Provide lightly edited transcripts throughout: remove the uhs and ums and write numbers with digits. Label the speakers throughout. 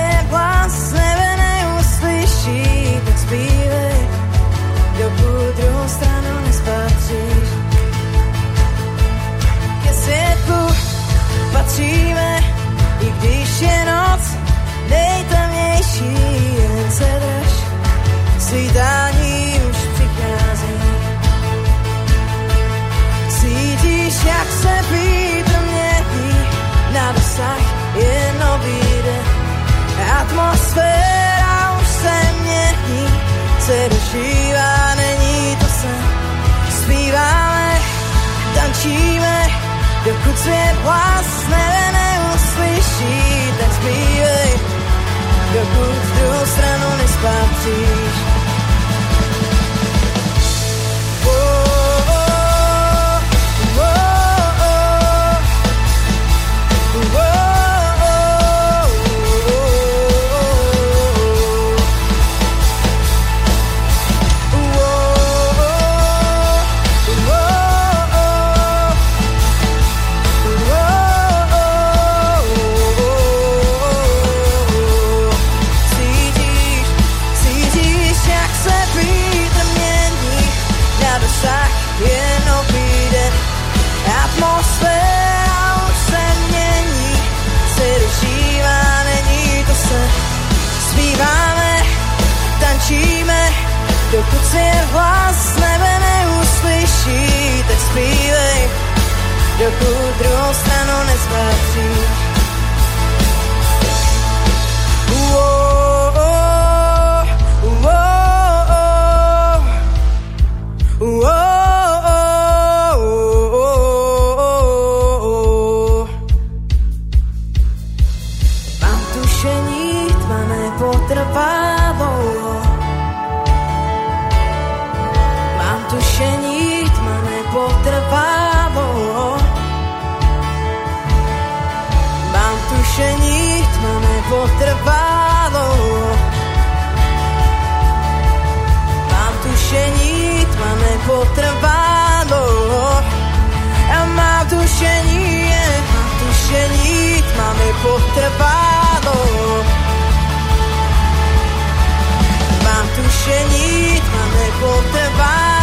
Speaker 1: svět hlas nebe neuslyší, tak zpívej, dokud druhou stranu nespatříš. Ke světlu patříme, i když je noc nejtemnější, jen se drž, svítání už přichází. Cítíš, jak se vítr mění, na dosah je nový den. Atmosféra už se mění, se dožívá, není to sen. Zpíváme, tančíme, dokud svět hlas nebe neuslyší, tak zpívej, dokud druhou stranu nespatříš. Dokud svět hlas nebe neuslyší, tak zpívej, dokud druhou stranu nespatříš. Mám tušení, tma nepotrvá dlouho. Tušení, tma nepotrvá dlouho. Mám tušení, tma nepotrvá dlouho. Mám tušení, tma nepotrvá dlouho. A mám tušení, tma nepotrvá dlouho. Mám tušení, tma nepotrvá.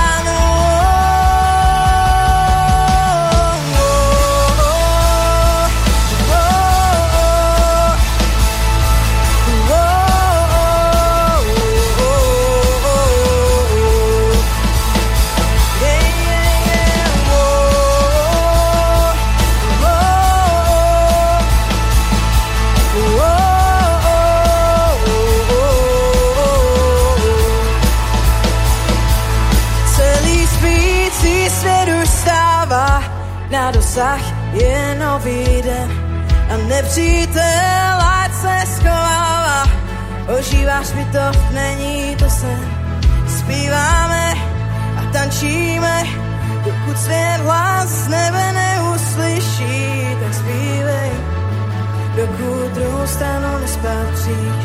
Speaker 1: Na dosah je nový den a nepřítel ať se schovává. Ožíváš mi to, není to sen. Zpíváme a tančíme, dokud svět hlas nebe neuslyší, tak zpívej, dokud druhou stranu nespatříš.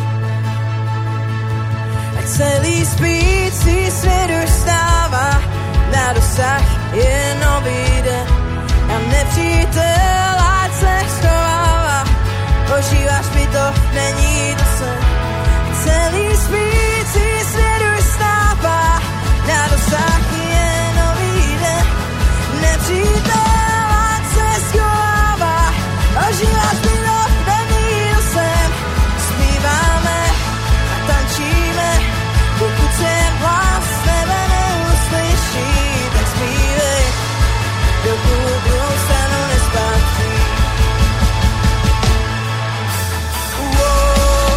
Speaker 1: Ať celý spící svět už stává, na dosah je nový den. A nepřítel ať se schovává. Ožíváš mi to, není to sen. Celý spící svět už stává, na dosah je nový den. Nepřítel ať se schovává. Ožíváš mi to, není to sen. Zpíváme a tančíme, dokud se hlas nebe neuslyší, tak zpívej, dokud druhou stranu nespatří. Wow.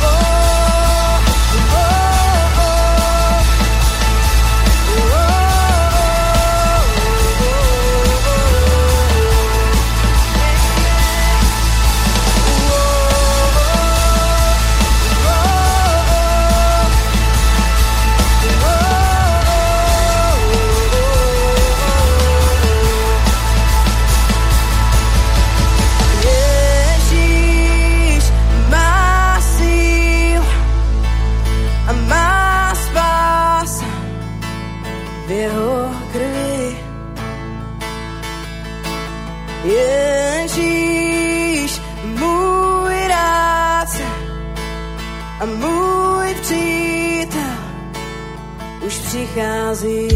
Speaker 1: a můj přítel už přichází.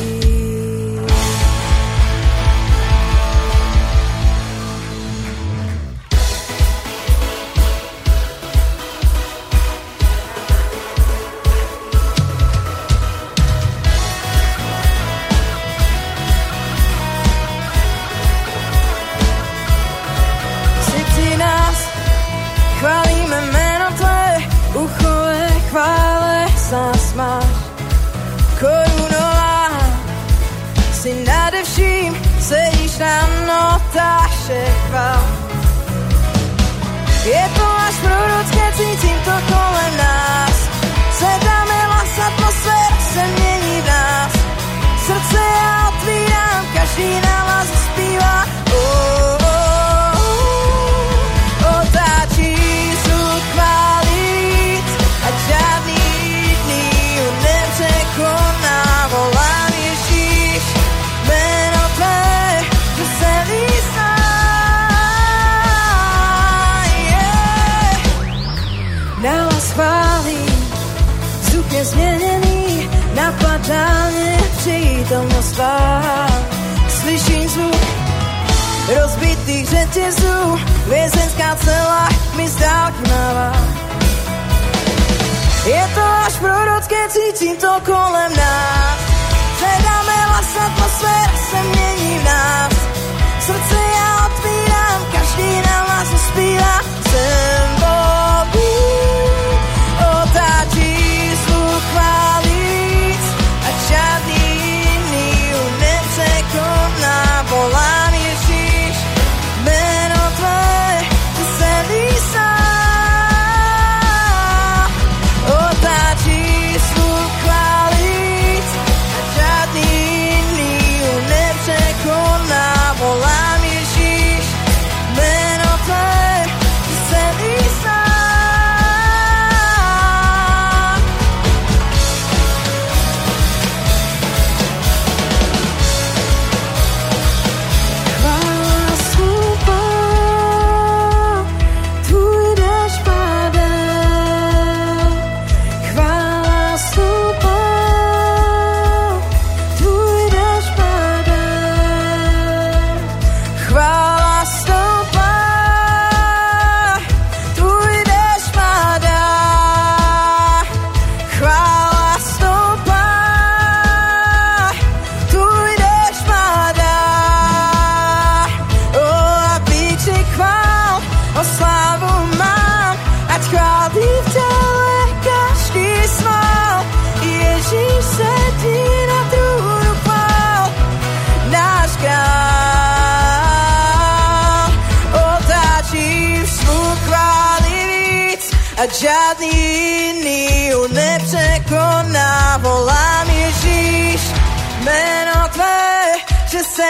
Speaker 2: Chválíme jméno tvé, uchové chvále zás máš. Korunová si nade vším, sedíš na notáše chvál. Je to až prorocké, cítím to kolem nás. Zvedáme hlas, atmosféra se mění v nás. Srdce já otvírám, každý na vás zpívá. Změněný, napadá mě přítomnost tvá. Slyším zvuk rozbitých řetězů, vězenská cela mi z dálky mává. Je to až prorocké, cítím to kolem nás. Předáme hlas, atmosféra se mění v nás. Srdce já otvírám, každý na vás uspívá. Jsem Bohu, otáčí chválit a žádný jiný nepřekoná. Volám Ježíš, jméno tvé, ty se lísá. Otáčí zvuk chválit a žádný jiný nepřekoná. Volám Ježíš, jméno tvé, ty se lísá. A žádný jiný ho nepřekoná. Volám Ježíš, jméno tvé, že se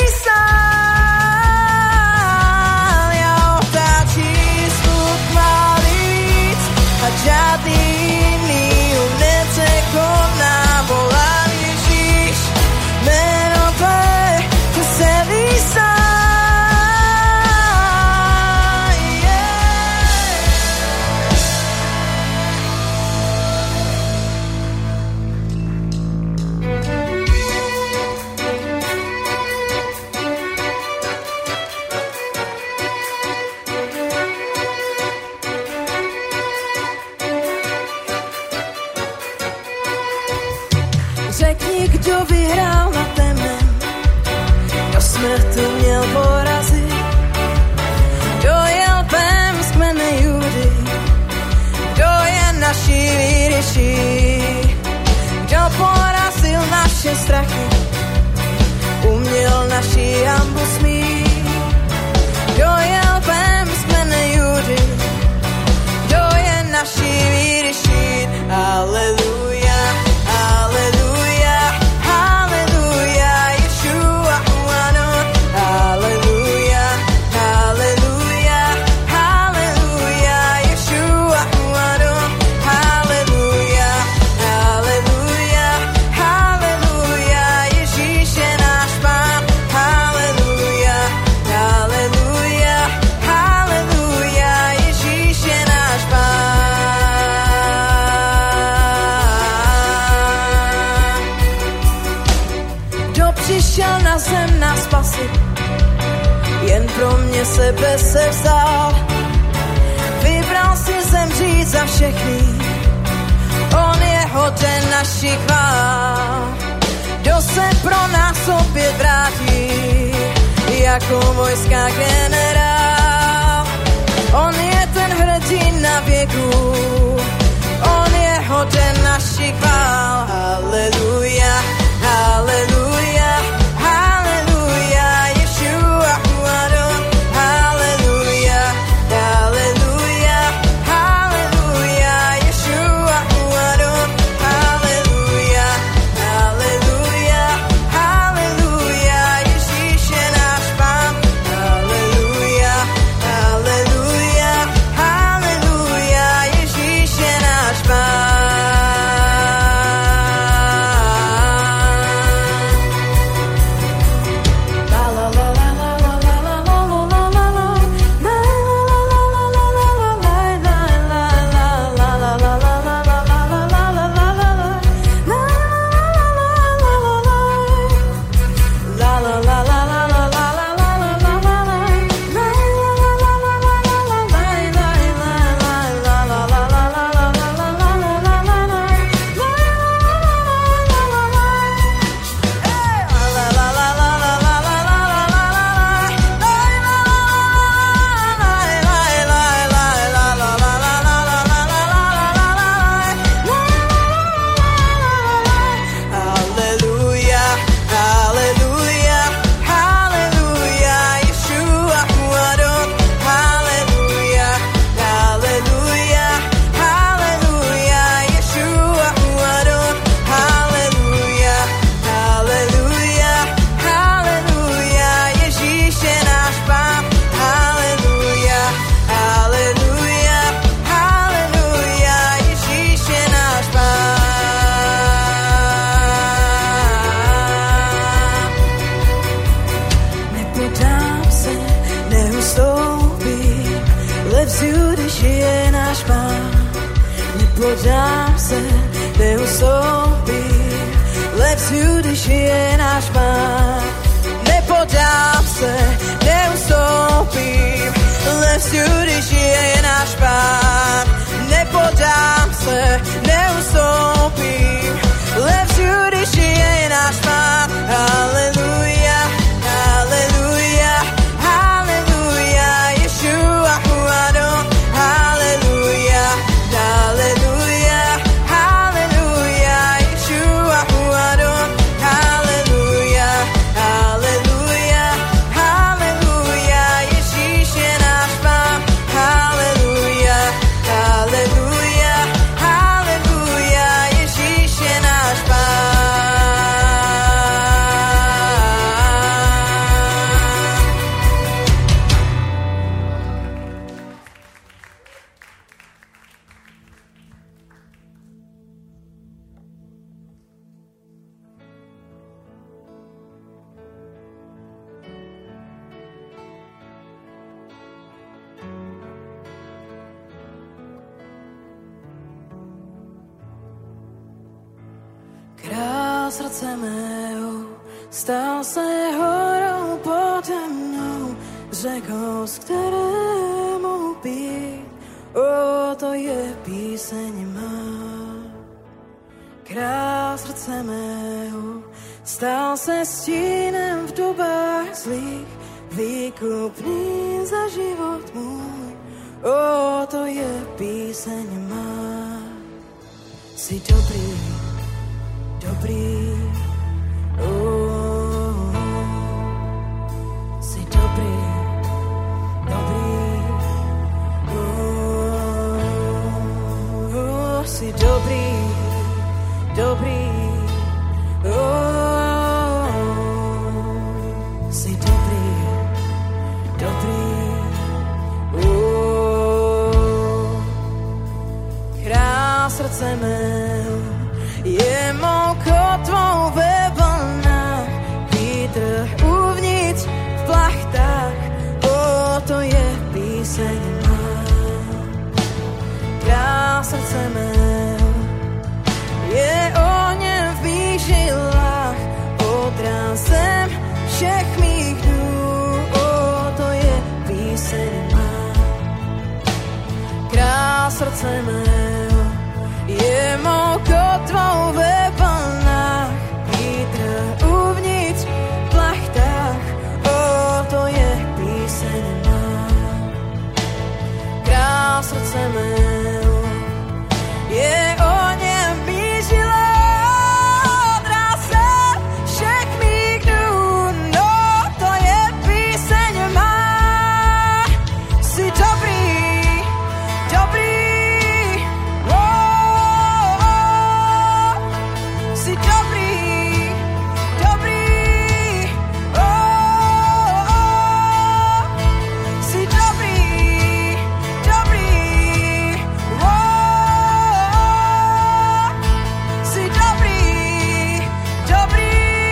Speaker 2: lísám. Já otáčím zvuk chválit a žádný jiný ho nepřekoná. Volám Ježíš, jméno tvé, že se lísám. Řekni, kdo vyhrál na temnem, kdo smrtu měl porazit, kdo je lvem z kmene Judy, kdo je naší výryší, kdo porazil naše strachy, uměl naší hanbu smít, kdo je lvem z kmene Judy, kdo je naší výryší. Aleluja, aleluja.
Speaker 1: Hallelujah. sebe se vzal. Vybral si zemřít za všechny, on je hoden našich chvál. Kdo se pro nás opět vrátí, jako vojska generál. On je ten hrdina věku, on je hoden našich chvál. Haleluja, haleluja, haleluja, Ješua Adon. Haleluja, haleluja, haleluja, Ješua Adon. Haleluja, haleluja, haleluja, Ježíš je náš Pán. Haleluja, haleluja, haleluja, Ježíš je náš Pán. Nepodám se, neustoupím, lepšiu, když je náš Pán. Nepodám se, neustoupím, lepšiu, když je náš Pán. Nepodám se, neustoupím, lepšiu, když je náš Pán. Haleluja, haleluja, haleluja, Ješua Adon. Haleluja, haleluja, haleluja, Ješua Adon. Haleluja, haleluja, haleluja, Ježíš je náš Pán. Haleluja, haleluja, haleluja, Ježíš je náš Pán. Král srdce mého stal se horou pode mnou, řekou, z které mohu pít, to je píseň má. Král srdce mého stal se stínem v dobách zlých, výkupný za život můj, to je píseň má. Jsi dobrý, dobrý, jsi dobrý, dobrý, jsi dobrý, dobrý, jsi dobrý, dobrý, král srdce mého je mou kotvou ve vlnách, vítr uvnitř v plachtách, to je píseň má. Král srdce mého je ohněm v mých žilách, odrazem všech mých dnů, to je píseň je mou kotvou ve vlnách, vítr uvnitř v plachtách, to je píseň má. Král srdce mého, je o něm mířila, dráze všech mých dnů, no to je píseň má. Jsi dobrý, dobrý, jsi dobrý, dobrý, jsi dobrý, dobrý, jsi dobrý, dobrý,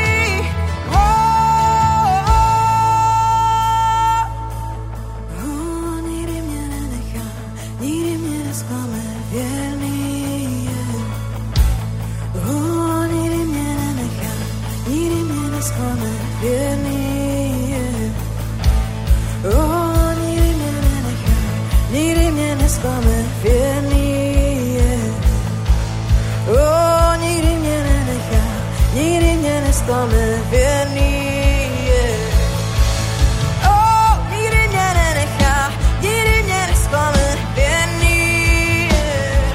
Speaker 1: nikdy mě nenechá, nikdy mě nesklame, věrný je. Nikdy mě nenechá, nikdy mě nesklame, věrný je. Nikdy mě nenechá, nikdy mě nesklame, věrný je. Nikdy mě nenechá, nikdy mě nesklame, věrný je. Nikdy mě nenechá, nikdy mě nesklame, věrný je.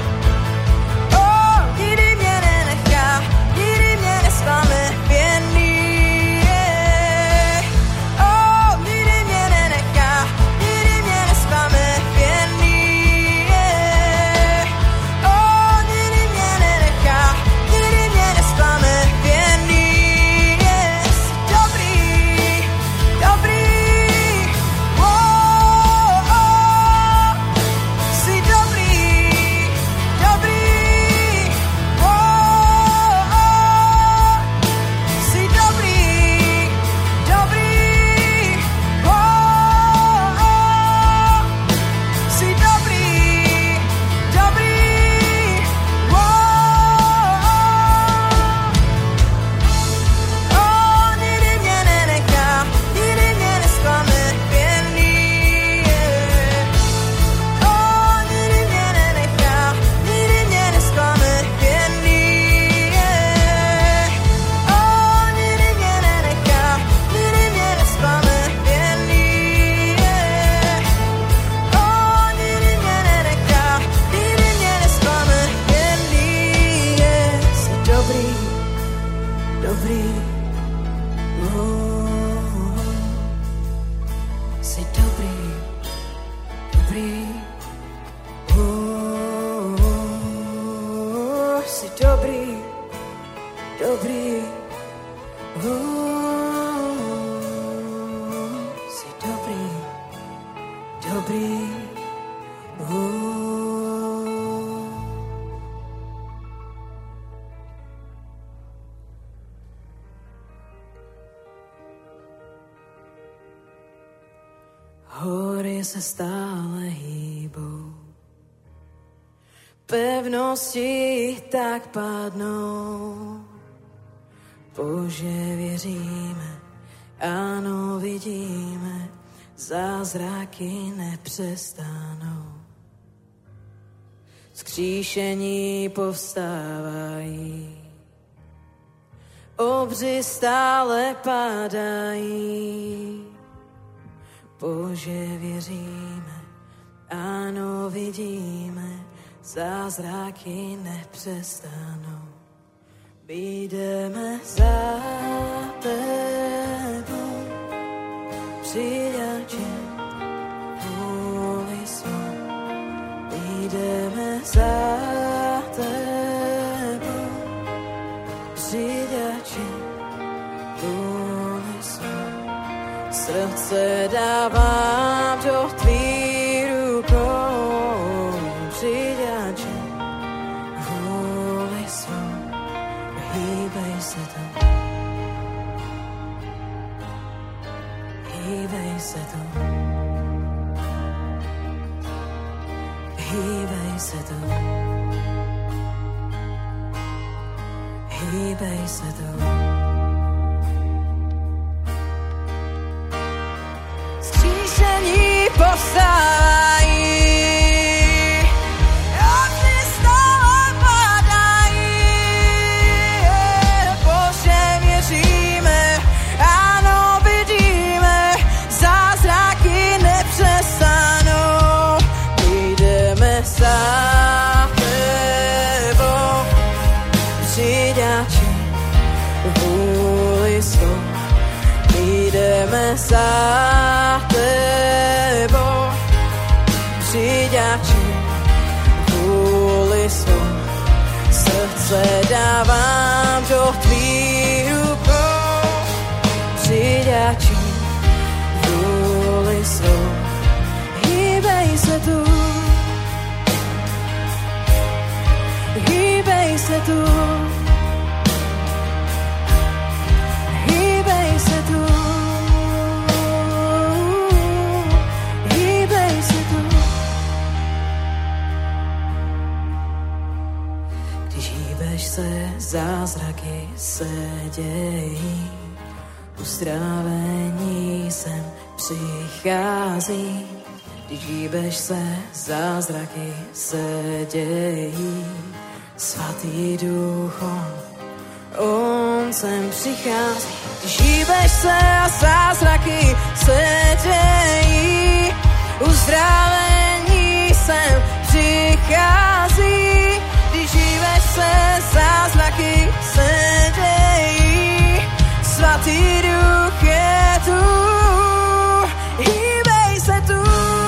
Speaker 1: Nikdy mě nenechá, nikdy mě nesklame, věrný je. Nikdy mě nenechá, nikdy mě nesklame, věrný je. Nikdy mě nenechá, nikdy mě nesklame, věrný je. Jsi dobrý, dobrý, jsi dobrý, dobrý, jsi dobrý, dobrý, jsi dobrý, dobrý, nikdy mě nenechá, nikdy mě nesklame, věrný je. Nikdy mě nenechá, nikdy mě nesklame, věrný je. Nikdy mě nenechá, nikdy mě nesklame, věrný je. Nikdy mě nenechá, nikdy mě nesklame, věrný je. Jsi dobrý, dobrý, jsi dobrý, dobrý, jsi dobrý, dobrý, jsi dobrý, dobrý, Hory se stále hýbou, pevnosti tak padnou. Bože, věříme, ano, vidíme, zázraky nepřestanou. Vzkříšení povstávají, obři stále padají. Bože, věříme, ano, vidíme, zázraky nepřestanou. Jdeme za tebou, přijače, vůli svou. Jdeme za tebou, přijače, vůli svou. Srdce dávám do tvých rukou, přijače, vůli svou. Hýbej se tam, hýbej se tam, hýbej se tam, hýbej se tam. Skříšení povstávají, obři stále za tebou. Přiďači vůli svou, srdce dávám do tvých rukou. Přiďači vůli svou, hýbej se tu, hýbej se tu, hýbej se tu, hýbej se tu. Když hýbeš se, zázraky se dějí, uzdravení sem přichází. Když hýbeš se, zázraky se dějí, Svatý Duch, on sem přichází. Když hýbeš se a zázraky se dějí, uzdravení sem přichází. Když hýbeš se, zázraky se dějí, Svatý Duch je tu, hýbej se tu.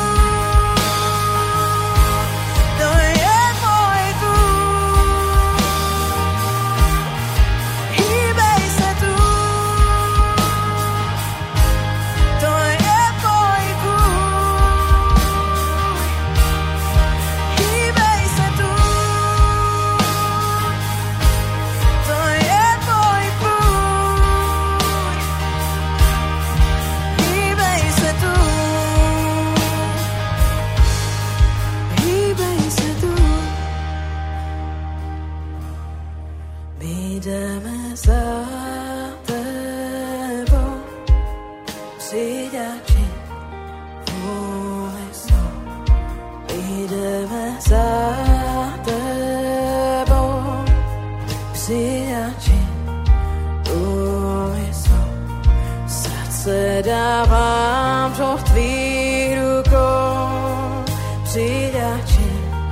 Speaker 1: Dávám do tvých rukou, přiďači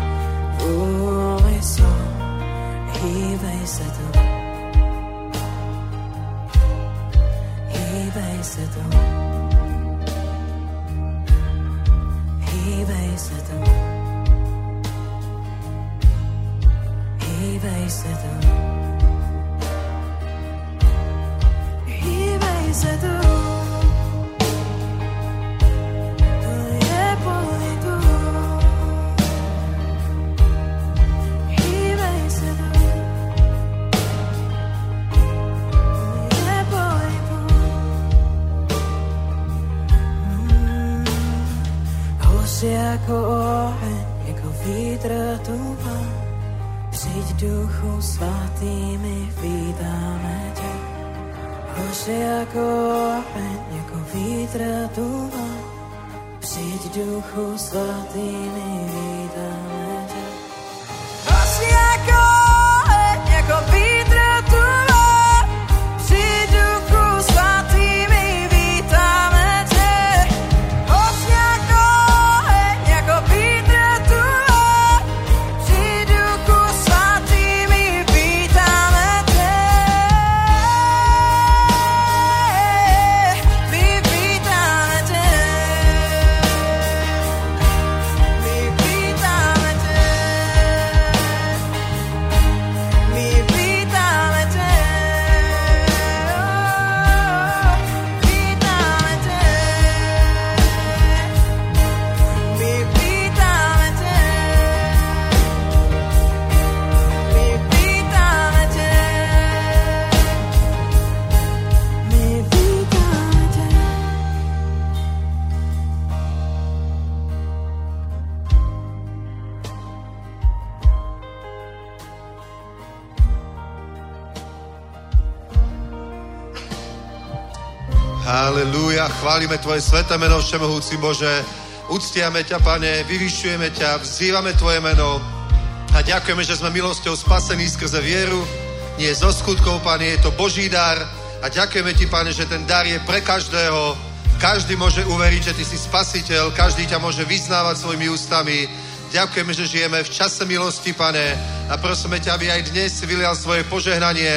Speaker 1: vůli svou, hýbej se tu, hýbej se tu, hýbej se tu, hýbej se tu, hýbej se tu. Jako oheň, jako vítr tuha, přijď Duchu Svatý, my vítáme tě. Hoř jako oheň, jako vítr tuha, přijď Duchu Svatý, my vítáme tě. Hoř jako oheň, jako vítr tuha, přijď Duchu Svatý, my vítáme tě. Hoř jako
Speaker 3: Halelúja, chválime Tvoje sveté meno, všemohúci Bože. Uctiame ťa, Pane, vyvyšujeme ťa, vzývame Tvoje meno a ďakujeme, že sme milosťou spasení skrze vieru. Nie zo skutkov, Pane, je to Boží dar a ďakujeme Ti, Pane, že ten dar je pre každého. Každý môže uveriť, že Ty si spasiteľ, každý ťa môže vyznávať svojimi ústami. Ďakujeme, že žijeme v čase milosti, Pane, a prosíme ťa, aby aj dnes si vylial svoje požehnanie,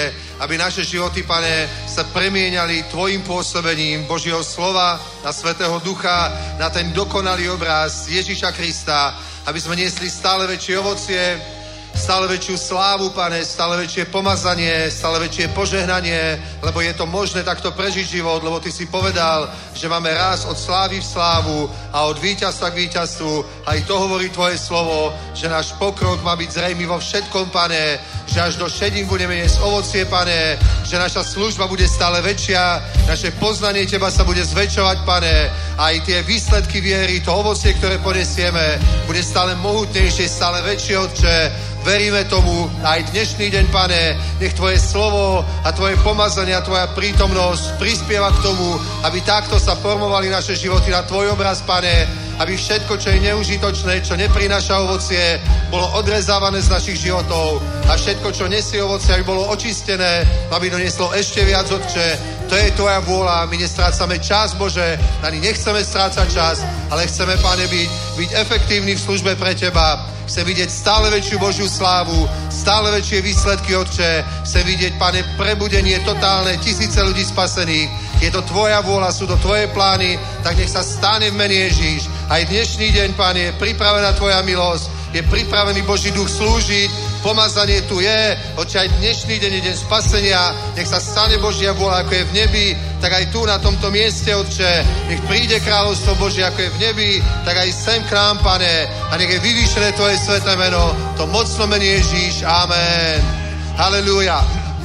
Speaker 3: aby naše životy, Pane, sa premieňali Tvojim pôsobením Božieho slova, na Svätého Ducha, na ten dokonalý obraz Ježiša Krista, aby sme niesli stále väčšie ovocie, stále väčšiu slávu, Pane, stále väčšie pomazanie, stále väčšie požehnanie, lebo je to možné takto prežiť život, lebo Ty si povedal, že máme raz od slávy v slávu a od víťazstva k víťazstvu. Aj to hovorí Tvoje slovo, že náš pokrok má byť zrejmý vo všetkom, Pane, že až do šedín budeme jesť ovocie, Pane, že naša služba bude stále väčšia, naše poznanie Teba sa bude zväčšovať, Pane, aj tie výsledky viery, to ovocie, ktoré ponesieme, bude stále mohutnejšie, stále väčšie, Otče. Veríme tomu aj dnešný deň, Pane, nech Tvoje slovo a Tvoje pomazanie a Tvoja prítomnosť prispieva k tomu, aby takto sa formovali naše životy na Tvoj obraz, Pane, aby všetko, čo je neužitočné, čo neprináša ovocie, bolo odrezávané z našich životov a všetko, čo nesie ovocie, aby bolo očistené, aby donieslo ešte viac, Otče. To je Tvoja vôľa, my nestrácame čas, Bože, ani nechceme strácať čas, ale chceme, Pane, byť efektívni v službe pre Teba. Chcem vidieť stále väčšiu Božiu slávu, stále väčšie výsledky, Otče. Chcem vidieť, Pane, prebudenie totálne, tisíce ľudí spasených. Je to Tvoja vôľa, sú to Tvoje plány, tak nech sa stane v mene Ježíš. Aj dnešný deň, Pane, je pripravená Tvoja milosť, je pripravený Boží duch slúžiť, pomazanie tu je, Otče, aj dnešný deň je deň spasenia, nech sa stane Božia vôľa, ako je v nebi, tak aj tu na tomto mieste, Otče, nech príde kráľovstvo Božie, ako je v nebi, tak aj sem k nám, Pane, a nech je vyvýšené Tvoje sväté meno, to mocno meno Ježíš, amen. Halelúja.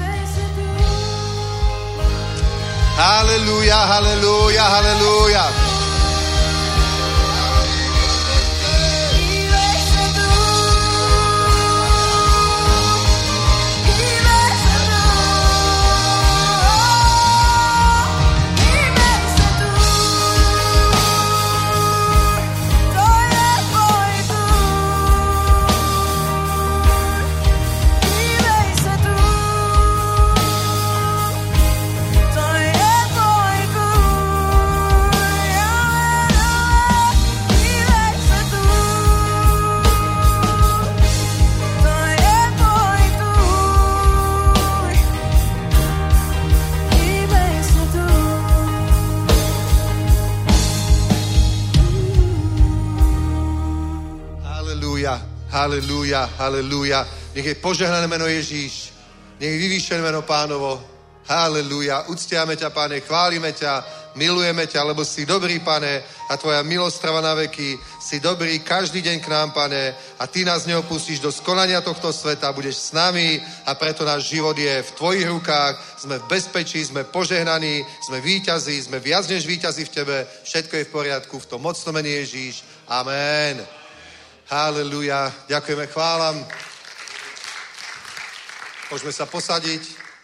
Speaker 3: Halelúja, halelúja, halelúja. Halelúja, halelúja. Nech je požehnané meno Ježíš. Nech je vyvýšené meno Pánovo. Halelúja. Uctiame ťa, Pane, chválime ťa, milujeme ťa, lebo si dobrý, Pane, a Tvoja milosť trvá na veky. Si dobrý každý deň k nám, Pane, a Ty nás neopustíš do skonania tohto sveta, budeš s nami a preto náš život je v Tvojich rukách. Sme v bezpečí, sme požehnaní, sme víťazi, sme viac než víťazi v Tebe. Všetko je v poriadku, v tom mocnom mene Ježíš. Amen. Halelúja. Ďakujeme, chválam. Môžeme sa posadiť.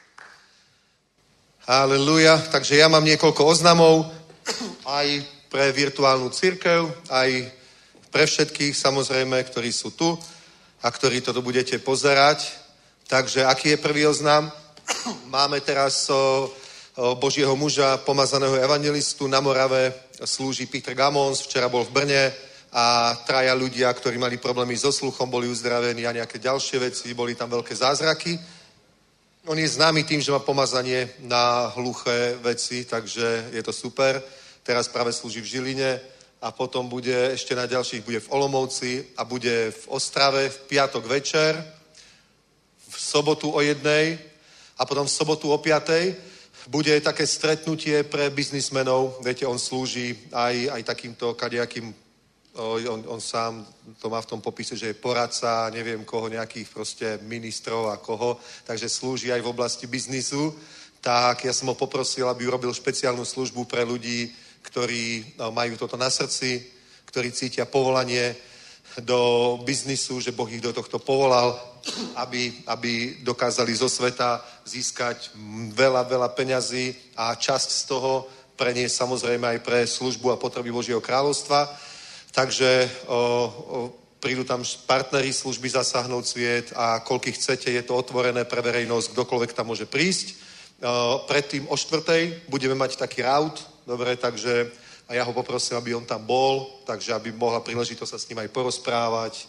Speaker 3: Halelúja. Takže ja mám niekoľko oznamov aj pre virtuálnu cirkev, aj pre všetkých, samozrejme, ktorí sú tu a ktorí toto budete pozerať. Takže aký je prvý oznam? Máme teraz Božieho muža, pomazaného evangelistu na Morave, slúži Peter Gamons, včera bol v Brne, a traja ľudia, ktorí mali problémy so sluchom, boli uzdravení a nejaké ďalšie veci, boli tam veľké zázraky. On je známy tým, že má pomazanie na hluché veci, takže je to super. Teraz práve slúži v Žiline a potom bude ešte na ďalších, bude v Olomouci a bude v Ostrave v piatok večer, v sobotu o 1:00 a potom v sobotu o 5:00 bude také stretnutie pre biznismenov. Viete, on slúži aj takýmto kadejakým. On sám to má v tom popise, že je poradca, neviem koho, nejakých proste ministrov a koho, takže slúži aj v oblasti biznisu. Tak ja som ho poprosil, aby urobil špeciálnu službu pre ľudí, ktorí majú toto na srdci, ktorí cítia povolanie do biznisu, že Boh ich do tohto povolal, aby dokázali zo sveta získať veľa peňazí a časť z toho preniesť samozrejme aj pre službu a potreby Božieho kráľovstva. Takže prídu tam partneri služby Zasáhnout sviet a koľkých chcete, je to otvorené pre verejnosť, kdokoľvek tam môže prísť. Predtým o 4:00 budeme mať taký raut, dobre, takže a ja ho poprosím, aby on tam bol, takže aby mohla príležitosť sa s ním aj porozprávať,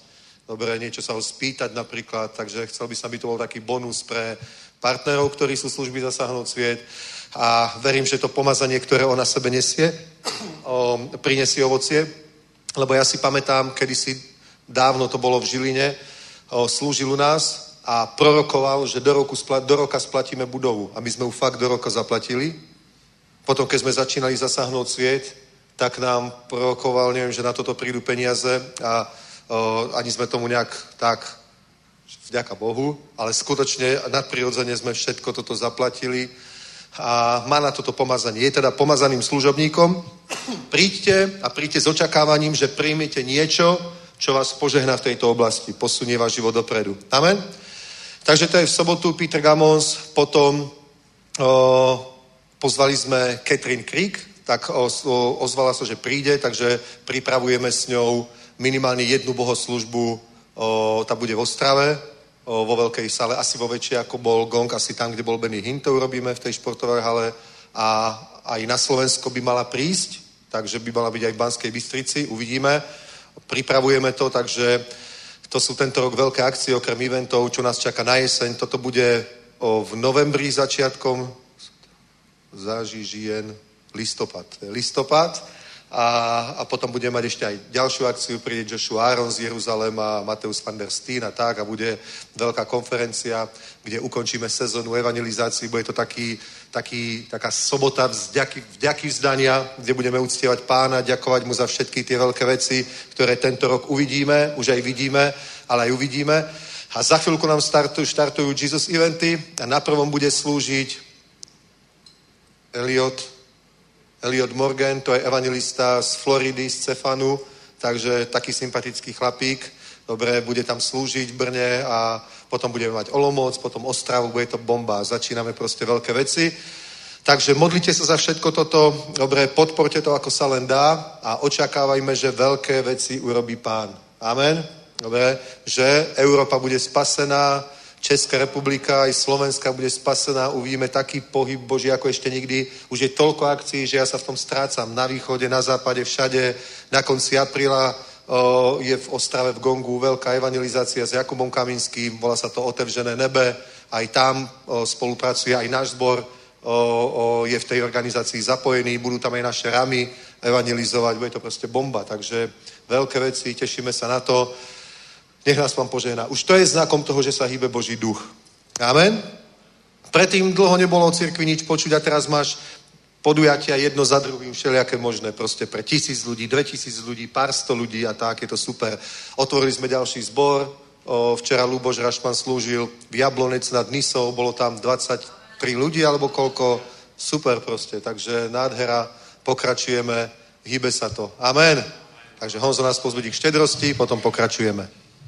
Speaker 3: Dobre, niečo sa ho spýtať napríklad, takže chcel by som, aby to bol taký bonus pre partnerov, ktorí sú služby Zasáhnuť sviet. A verím, že to pomazanie, ktoré on na sebe nesie, prinesie ovocie. Lebo ja si pamätám, kedysi dávno to bolo v Žiline, slúžil u nás a prorokoval, že do roka splatíme budovu. A my sme ju fakt do roka zaplatili. Potom, keď sme začínali Zasáhnuť sviet, tak nám prorokoval, neviem, že na toto prídu peniaze a ani sme tomu nejak tak, vďaka Bohu, ale skutočne nadprirodzene sme všetko toto zaplatili a má na toto pomazanie. Je teda pomazaným služobníkom. Príďte s očakávaním, že príjmete niečo, čo vás požehná v tejto oblasti, posunie váš život dopredu. Amen? Takže to je v sobotu Peter Gamons, potom pozvali sme Catherine Creek, tak ozvala sa, že príde, takže pripravujeme s ňou minimálne jednu bohoslužbu, tá bude v Ostrave, vo veľkej sále, asi vo väčšej, ako bol Gong, asi tam, kde bol Benny Hinn, to urobíme v tej športovej hale a aj na Slovensko by mala prísť, takže by mala byť aj v Banskej Bystrici, uvidíme. Pripravujeme to, takže to sú tento rok veľké akcie, okrem eventov, čo nás čaká na jeseň. Toto bude v novembri začiatkom, listopad. A potom budeme mať ešte aj ďalšiu akciu, príde Joshua Aaron z Jeruzalema, Mateus van der Steen a tak a bude veľká konferencia, kde ukončíme sezónu evangelizácií. Bude to taká sobota vďaky vzdania, kde budeme uctievať Pána, ďakovať mu za všetky tie veľké veci, ktoré tento rok uvidíme, už aj vidíme, ale aj uvidíme. A za chvíľku nám štartujú Jesus eventy a na prvom bude slúžiť Elliot Morgan, to je evangelista z Floridy, z Cefanu, takže taký sympatický chlapík. Dobre, bude tam slúžiť v Brne a potom budeme mať Olomouc, potom Ostravu, bude to bomba. Začíname proste veľké veci. Takže modlite sa za všetko toto, dobre, podporte to, ako sa len dá a očakávajme, že veľké veci urobí Pán. Amen? Dobre, že Európa bude spasená, Česká republika aj Slovenska bude spasená, uvidíme taký pohyb Boží ako ešte nikdy. Už je toľko akcií, že ja sa v tom strácam. Na východe, na západe, všade. Na konci apríla je v Ostrave v Gongu veľká evangelizácia s Jakubom Kaminským, volá sa to Otevřené nebe. Aj tam spolupracuje aj náš zbor, je v tej organizácii zapojený, budú tam aj naše ramy evangelizovať, bude to proste bomba. Takže veľké veci, tešíme sa na to. Nech nás Pán požehná. Už to je znakom toho, že sa hýbe Boží duch. Amen? Predtým dlho nebolo o cirkvi nič počuť a teraz máš podujatia jedno za druhým, všelijaké možné, proste pre 1000 ľudí, 2000 ľudí, pár 100 ľudí a tak, je to super. Otvorili sme ďalší zbor, včera Luboš Rašman slúžil v Jablonec nad Nisou, bolo tam 23 ľudí alebo koľko, super proste, takže nádhera, pokračujeme, hýbe sa to. Amen. Takže Honzo nás pozbudí k štedrosti, potom pokračujeme.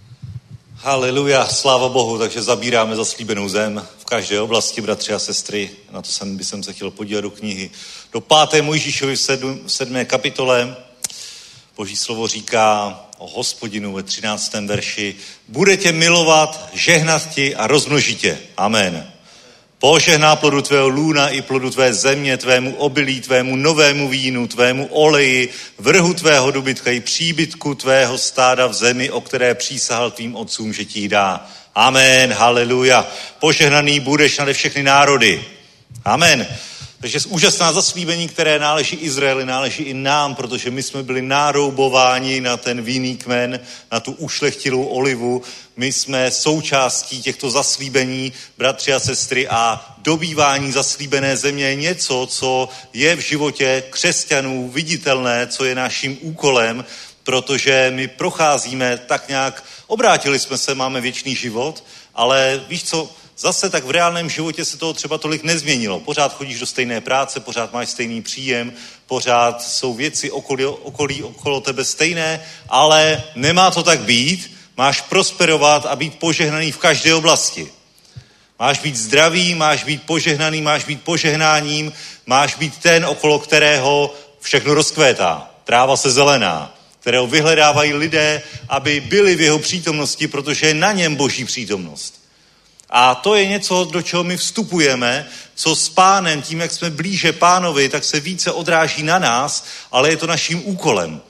Speaker 4: Haleluja, sláva Bohu, takže zabíráme zaslíbenou zem v každé oblasti, bratři a sestry. Na to bych se chtěl podívat do knihy. Do 5. Mojžíšovi v 7. kapitole Boží slovo říká o Hospodinu ve 13. verši: bude tě milovat, žehnat ti a rozmnožit tě. Amen. Požehná plodu tvého lůna i plodu tvé země, tvému obilí, tvému novému vínu, tvému oleji, vrhu tvého dobytka i příbytku tvého stáda v zemi, o které přísahal tvým otcům, že ti dá. Amen, haleluja. Požehnaný budeš nade všechny národy. Amen. Takže úžasná zaslíbení, které náleží Izraeli, náleží i nám, protože my jsme byli nároubováni na ten vinný kmen, na tu ušlechtilou olivu. My jsme součástí těchto zaslíbení, bratři a sestry, a dobývání zaslíbené země je něco, co je v životě křesťanů viditelné, co je naším úkolem, protože my procházíme tak nějak, obrátili jsme se, máme věčný život, ale víš co, zase tak v reálném životě se toho třeba tolik nezměnilo. Pořád chodíš do stejné práce, pořád máš stejný příjem, pořád jsou věci okolo tebe stejné, ale nemá to tak být. Máš prosperovat a být požehnaný v každé oblasti. Máš být zdravý, máš být požehnaný, máš být požehnáním, máš být ten, okolo kterého všechno rozkvétá. Tráva se zelená, kterého vyhledávají lidé, aby byli v jeho přítomnosti, protože je na něm Boží přítomnost. A to je něco, do čeho my vstupujeme, co s Pánem, tím, jak jsme blíže Pánovi, tak se více odráží na nás, ale je to naším úkolem.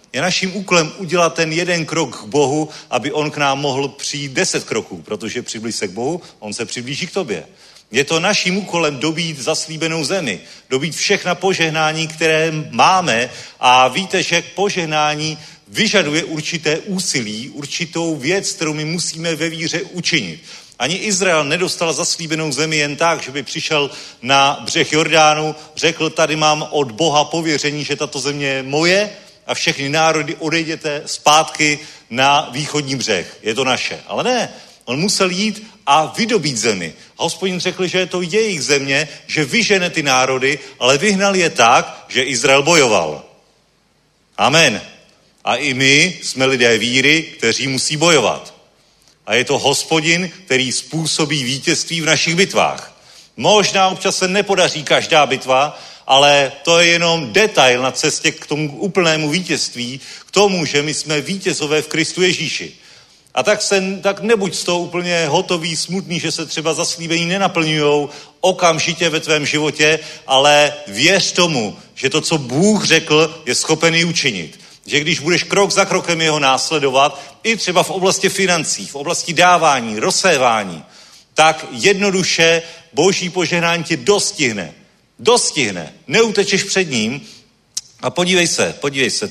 Speaker 4: Je naším úkolem udělat ten jeden krok k Bohu, aby on k nám mohl přijít 10 kroků, protože přiblíž se k Bohu, on se přiblíží k tobě. Je to naším úkolem dobít zaslíbenou zemi, dobít všechna požehnání, které máme a víte, že požehnání vyžaduje určité úsilí, určitou věc, kterou my musíme ve víře učinit. Ani Izrael nedostal zaslíbenou zemi jen tak, že by přišel na břeh Jordánu, řekl, tady mám od Boha pověření, že tato země je moje a všechny národy odejděte zpátky na východní břeh. Je to naše. Ale ne, on musel jít a vydobít zemi. A Hospodin řekl, že je to jejich země, že vyžene ty národy, ale vyhnal je tak, že Izrael bojoval. Amen. A i my jsme lidé víry, kteří musí bojovat. A je to Hospodin, který způsobí vítězství v našich bitvách. Možná občas se nepodaří každá bitva, ale to je jenom detail na cestě k tomu úplnému vítězství, k tomu, že my jsme vítězové v Kristu Ježíši. A tak nebuď z toho úplně hotový, smutný, že se třeba zaslíbení nenaplňujou okamžitě ve tvém životě, ale věř tomu, že to, co Bůh řekl, je schopen i učinit. Že když budeš krok za krokem jeho následovat, i třeba v oblasti financí, v oblasti dávání, rozsévání, tak jednoduše Boží požehnání tě dostihne. Dostihne. Neutečeš před ním. A podívej se,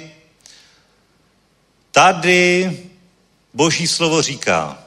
Speaker 4: tady Boží slovo říká,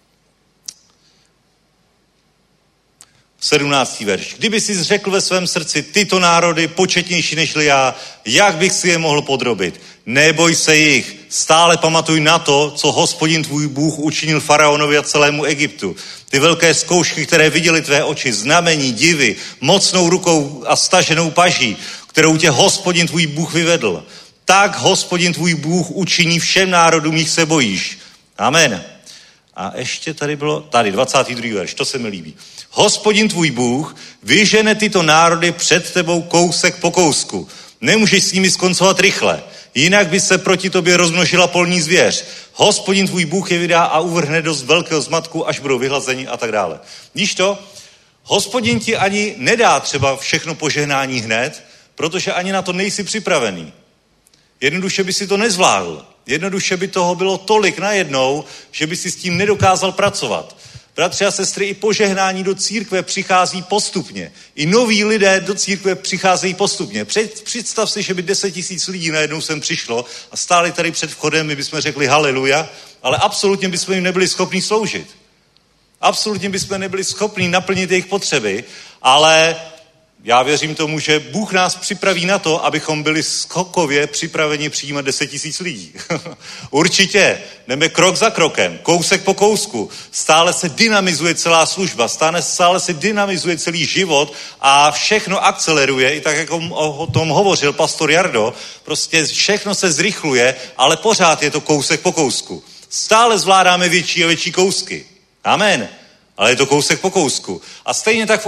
Speaker 4: 17. verš. Kdyby jsi řekl ve svém srdci, tyto národy početnější nežli já, jak bych si je mohl podrobit? Neboj se jich, stále pamatuj na to, co Hospodin tvůj Bůh učinil faraonovi a celému Egyptu. Ty velké zkoušky, které viděly tvé oči, znamení, divy, mocnou rukou a staženou paží, kterou tě Hospodin tvůj Bůh vyvedl. Tak Hospodin tvůj Bůh učiní všem národům, jich se bojíš. Amen. A ještě tady 22. verš, to se mi líbí. Hospodin tvůj Bůh vyžene tyto národy před tebou kousek po kousku. Nemůžeš s nimi skoncovat rychle, jinak by se proti tobě rozmnožila polní zvěř. Hospodin tvůj Bůh je vydá a uvrhne do velkého zmatku, až budou vyhlazeni a tak dále. Víš to? Hospodin ti ani nedá třeba všechno požehnání hned, protože ani na to nejsi připravený. Jednoduše by si to nezvládl. Jednoduše by toho bylo tolik najednou, že by si s tím nedokázal pracovat. Bratři a sestry, i požehnání do církve přichází postupně. I noví lidé do církve přicházejí postupně. Představ si, že by 10 000 lidí najednou sem přišlo a stáli tady před vchodem, my bychom řekli haleluja, ale absolutně bychom jim nebyli schopni sloužit. Absolutně bychom nebyli schopni naplnit jejich potřeby, ale já věřím tomu, že Bůh nás připraví na to, abychom byli skokově připraveni přijímat 10 000 lidí. Určitě. Jdeme krok za krokem, kousek po kousku. Stále se dynamizuje celá služba, stále se dynamizuje celý život a všechno akceleruje, i tak, jak o tom hovořil pastor Jardo, prostě všechno se zrychluje, ale pořád je to kousek po kousku. Stále zvládáme větší a větší kousky. Amen. Ale je to kousek po kousku. A stejně tak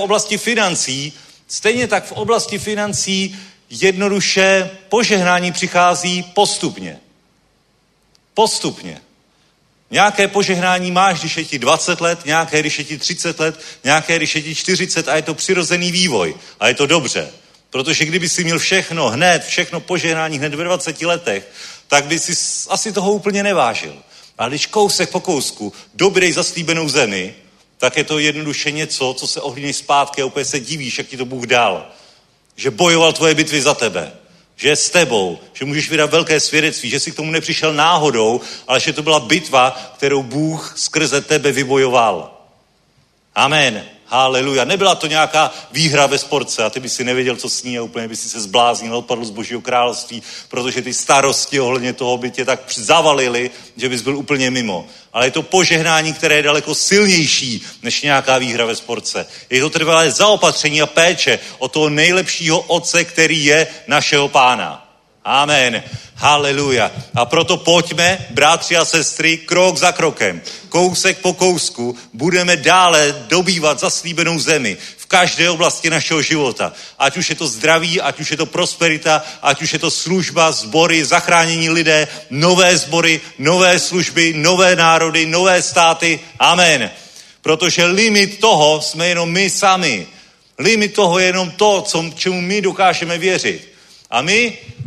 Speaker 4: v oblasti financí jednoduše požehnání přichází postupně. Postupně. Nějaké požehnání máš, když je ti 20 let, nějaké, když je ti 30 let, nějaké, když je ti 40 a je to přirozený vývoj. A je to dobře. Protože kdyby si měl všechno požehnání hned ve 20 letech, tak by si asi toho úplně nevážil. Ale když kousek po kousku dobrej zaslíbenou zemi, tak je to jednoduše něco, co se ohlídneš zpátky a úplně se divíš, jak ti to Bůh dal. Že bojoval tvoje bitvy za tebe. Že je s tebou. Že můžeš vydat velké svědectví. Že si k tomu nepřišel náhodou, ale že to byla bitva, kterou Bůh skrze tebe vybojoval. Amen. Haleluja. Nebyla to nějaká výhra ve sportce a ty by si nevěděl, co s ní a úplně by si se zbláznil, odpadl z Božího království, protože ty starosti ohledně toho by tě tak zavalily, že bys byl úplně mimo. Ale je to požehnání, které je daleko silnější než nějaká výhra ve sportce. Je to trvalé zaopatření a péče o toho nejlepšího otce, který je našeho Pána. Amen. Haleluja. A proto pojďme, bratři a sestry, krok za krokem, kousek po kousku, budeme dále dobývat zaslíbenou zemi v každé oblasti našeho života. Ať už je to zdraví, ať už je to prosperita, ať už je to služba, sbory, zachránění lidé, nové sbory, nové služby, nové národy, nové státy. Amen. Protože limit toho jsme jenom my sami. Limit toho je jenom to, čemu my dokážeme věřit. A my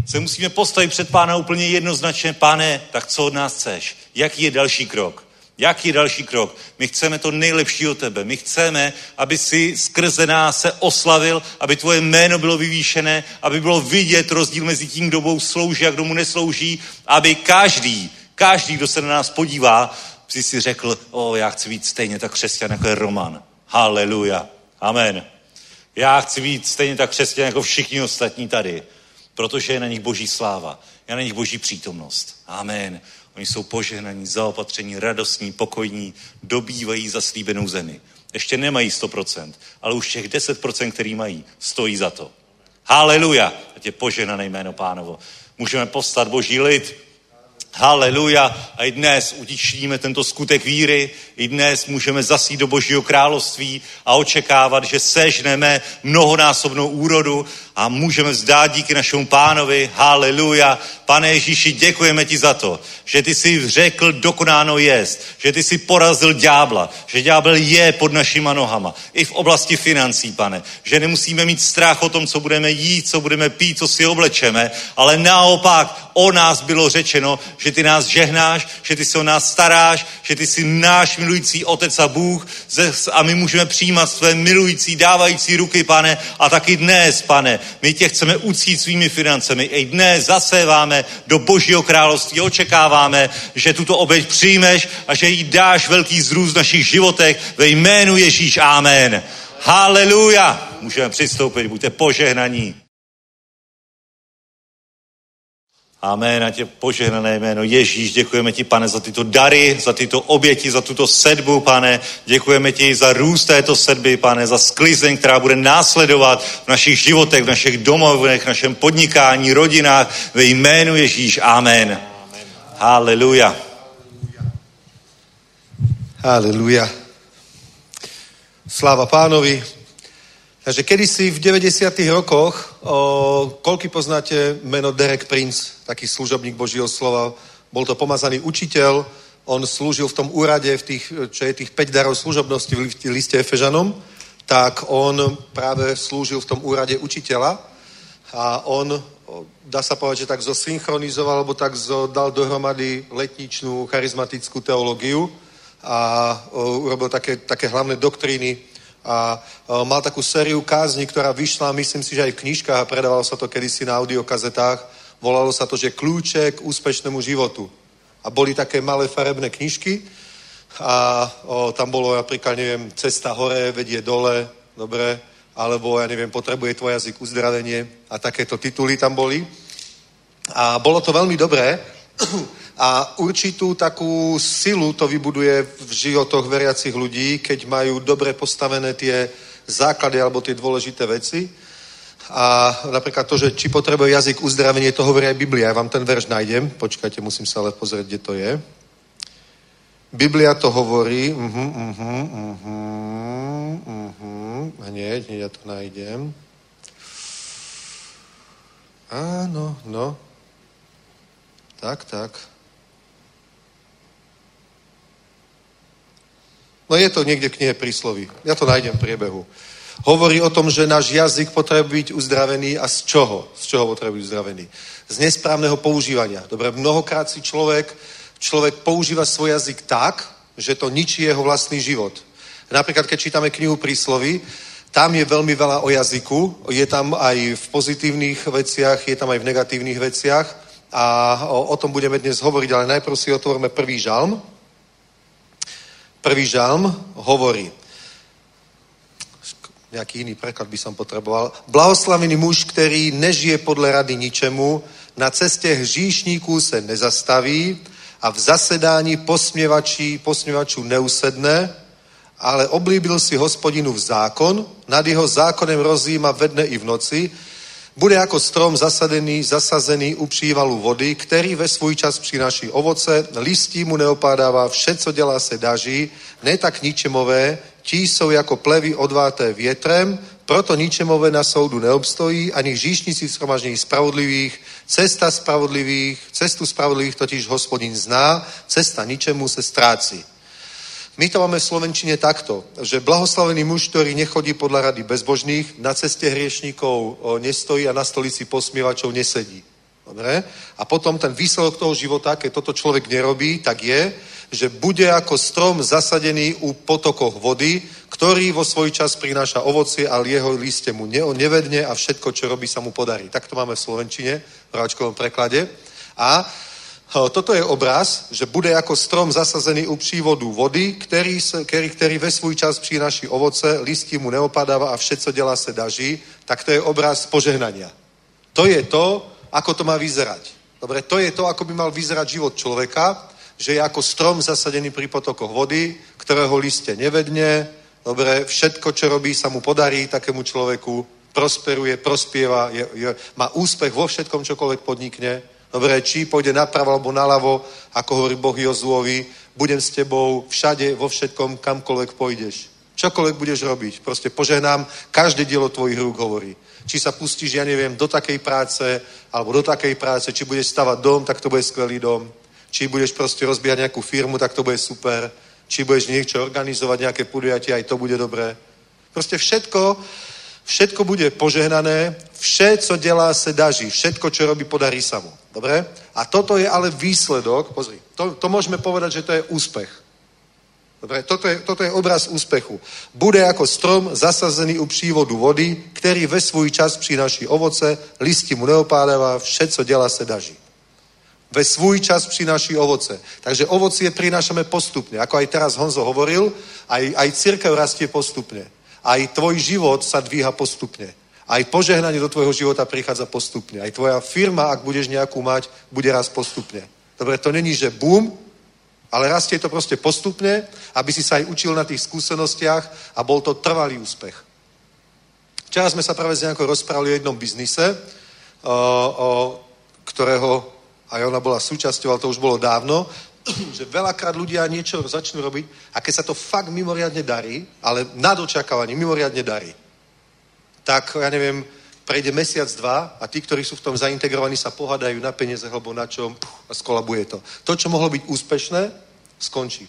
Speaker 4: se musíme postavit před Pána úplně jednoznačně. Pane, tak co od nás chceš? Jaký je další krok? Jaký je další krok? My chceme to nejlepší od tebe. My chceme, aby si skrze nás se oslavil, aby tvoje jméno bylo vyvýšené, aby bylo vidět rozdíl mezi tím, kdo Bohu slouží a kdo mu neslouží, aby každý, kdo se na nás podívá, si řekl, já chci být stejně tak křesťan, jako je Roman. Haleluja. Amen. Já chci být stejně tak křesťan, jako všichni ostatní tady, protože je na nich Boží sláva, je na nich Boží přítomnost. Amen. Oni jsou požehnaní, zaopatření, radostní, pokojní, dobývají zaslíbenou zemi. Ještě nemají 100%, ale už těch 10%, který mají, stojí za to. Haleluja. Ať je požehnané jméno Pánovo. Můžeme povstat, Boží lid. Haleluja. A i dnes utičníme tento skutek víry. I dnes můžeme zasít do Božího království a očekávat, že sežneme mnohonásobnou úrodu a můžeme vzdát díky našemu Pánovi. Haleluja. Pane Ježíši, děkujeme ti za to, že ty jsi řekl, dokonáno jest, že ty jsi porazil ďábla, že ďábel je pod našima nohama. I v oblasti financí, Pane. Že nemusíme mít strach o tom, co budeme jít, co budeme pít, co si oblečeme, ale naopak o nás bylo řečeno, že ty nás žehnáš, že ty se o nás staráš, že ty jsi náš milující Otec a Bůh a my můžeme přijímat své milující, dávající ruky, Pane, a taky dnes, Pane, my tě chceme uctít svými financemi. I dnes zaséváme do Božího království, očekáváme, že tuto oběť přijmeš a že jí dáš velký zrůst v našich životech ve jménu Ježíš. Amen. Haleluja. Můžeme přistoupit, buďte požehnaní. Amen, a tě požehnané jméno Ježíš, děkujeme ti, Pane, za tyto dary, za tyto oběti, za tuto sedbu, Pane, děkujeme ti za růst této sedby, Pane, za sklizeň, která bude následovat v našich životech, v našich domovech, v našem podnikání, rodinách, ve jménu Ježíš, amen. Haleluja.
Speaker 3: Haleluja. Sláva Pánovi. Takže kedysi v 90. rokoch, koľko poznáte meno Derek Prince, taký služobník Božího slova, bol to pomazaný učiteľ, on slúžil v tom úrade, čo je tých 5 darov služobnosti v liste Efežanom, tak on práve slúžil v tom úrade učiteľa a on, dá sa povedať, že tak zosynchronizoval, alebo tak dal dohromady letničnú charizmatickú teológiu a urobil také hlavné doktríny a mal takú sériu kázni, ktorá vyšla, myslím si, že aj v knižkách a predávalo sa to kedysi na audiokazetách. Volalo sa to, že Kľúče k úspešnému životu. A boli také malé farebné knižky a tam bolo napríklad, neviem, Cesta hore, vedie dole, dobre, alebo, ja neviem, Potrebuje tvoj jazyk uzdravenie a takéto tituly tam boli. A bolo to veľmi dobré a určitú takú silu to vybuduje v životoch veriacich ľudí, keď majú dobre postavené tie základy alebo tie dôležité veci. A napríklad to, že či potrebuje jazyk uzdravenie, to hovorí aj Biblia. Ja vám ten verš nájdem. Počkajte, musím sa ale pozrieť, kde to je. Biblia to hovorí. Hneď ja to nájdem. Áno, no. Tak. No je to niekde v knihe Prísloví. Ja to nájdem v priebehu. Hovorí o tom, že náš jazyk potrebuje byť uzdravený a z čoho? Z čoho potrebuje byť uzdravený? Z nesprávneho používania. Dobre, mnohokrát si človek používa svoj jazyk tak, že to ničí jeho vlastný život. Napríklad, keď čítame knihu Prísloví, tam je veľmi veľa o jazyku, je tam aj v pozitívnych veciach, je tam aj v negatívnych veciach a o tom budeme dnes hovoriť, ale najprv si otvoríme prvý žalm. Prvý žalm hovorí, nejaký iný preklad by som potreboval, blahoslavený muž, který nežije podle rady ničemu, na cestě hříšníků se nezastaví a v zasedání posměvačů neusedne, ale oblíbil si Hospodinův zákon, nad jeho zákonem rozjíma ve dne i v noci, bude jako strom zasazený u přívalu vody, který ve svůj čas přináší ovoce, listí mu neopádává, vše, co dělá, se daří, ne tak ničemové, ti jsou jako plevy odváté větrem, proto ničemové na soudu neobstojí, ani hříšníci v shromaždění spravodlivých, cestu spravodlivých totiž Hospodin zná, cesta ničemu se ztrácí. My to máme v slovenčine takto, že blahoslavený muž, ktorý nechodí podľa rady bezbožných, na ceste hriešníkov nestojí a na stolici posmievačov nesedí. Dobre? A potom ten výsledok toho života, keď toto človek nerobí, tak je, že bude ako strom zasadený u potokoch vody, ktorý vo svoj čas prináša ovocie, ale jeho liste mu nevedne a všetko, čo robí, sa mu podarí. Tak to máme v slovenčine, v práčkovom preklade. A toto je obraz, že bude ako strom zasazený u přívodu vody, který ve svůj čas přináší ovoce, listí mu neopadáva a všetko dělá se daží, tak to je obraz požehnania. To je to, ako to má vyzerať. Dobre, to je to, ako by mal vyzerať život človeka, že je ako strom zasadený pri potokoch vody, ktorého liste nevedne, dobre, všetko, čo robí, sa mu podarí takému človeku, prosperuje, prospieva, má úspech vo všetkom, čokoľvek podnikne. Dobre, či pôjde napravo alebo naľavo, ako hovorí Boh Jozuovi, budem s tebou všade, vo všetkom, kamkoľvek pôjdeš. Čokoľvek budeš robiť. Proste požehnám, každé dielo tvojich rúk, hovorí. Či sa pustíš, ja neviem, do takej práce, alebo do takej práce, či budeš stavať dom, tak to bude skvelý dom. Či budeš proste rozbíjať nejakú firmu, tak to bude super. Či budeš niečo organizovať, nejaké podujatie, aj to bude dobré. Proste všetko bude požehnané, vše, co dělá, se daží. Všetko, čo robí, podarí sa mu. Dobre? A toto je ale výsledok, pozri, to môžeme povedať, že to je úspech. Dobre? Toto je obraz úspechu. Bude ako strom zasazený u přívodu vody, který ve svůj čas přináší ovoce, listí mu neopádává, vše, co dělá, se daží. Ve svůj čas přináší ovoce. Takže ovocie prinášame postupne. Ako aj teraz Honzo hovoril, aj cirkev rastie postupne. Aj tvoj život sa dvíha postupne. Aj požehnanie do tvojho života prichádza postupne. Aj tvoja firma, ak budeš nejakú mať, bude rast postupne. Dobre, to není, že boom, ale rastie to proste postupne, aby si sa aj učil na tých skúsenostiach a bol to trvalý úspech. Včera sme sa práve s nejakou rozprávali o jednom biznise, o ktorého aj ona bola súčasťou, ale to už bolo dávno, že veľakrát ľudia niečo začnú robiť a keď sa to fakt mimoriadne darí, ale nad očakávaním mimoriadne darí, tak, ja neviem, prejde mesiac, dva a tí, ktorí sú v tom zaintegrovaní, sa pohádajú na peniaze alebo na čom a skolabuje to. To, čo mohlo byť úspešné, skončí.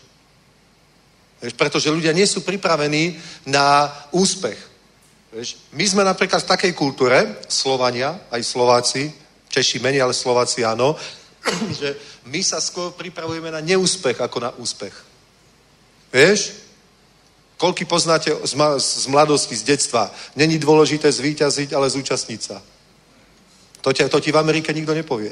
Speaker 3: Pretože ľudia nie sú pripravení na úspech. My sme napríklad v takej kultúre, Slovania, aj Slováci, Češi menej, ale Slováci áno, že my sa skôr pripravujeme na neúspech ako na úspech. Vieš? Koľky poznáte z mladosti, z detstva? Není dôležité zvíťaziť, ale zúčastniť sa. To ti v Amerike nikto nepovie.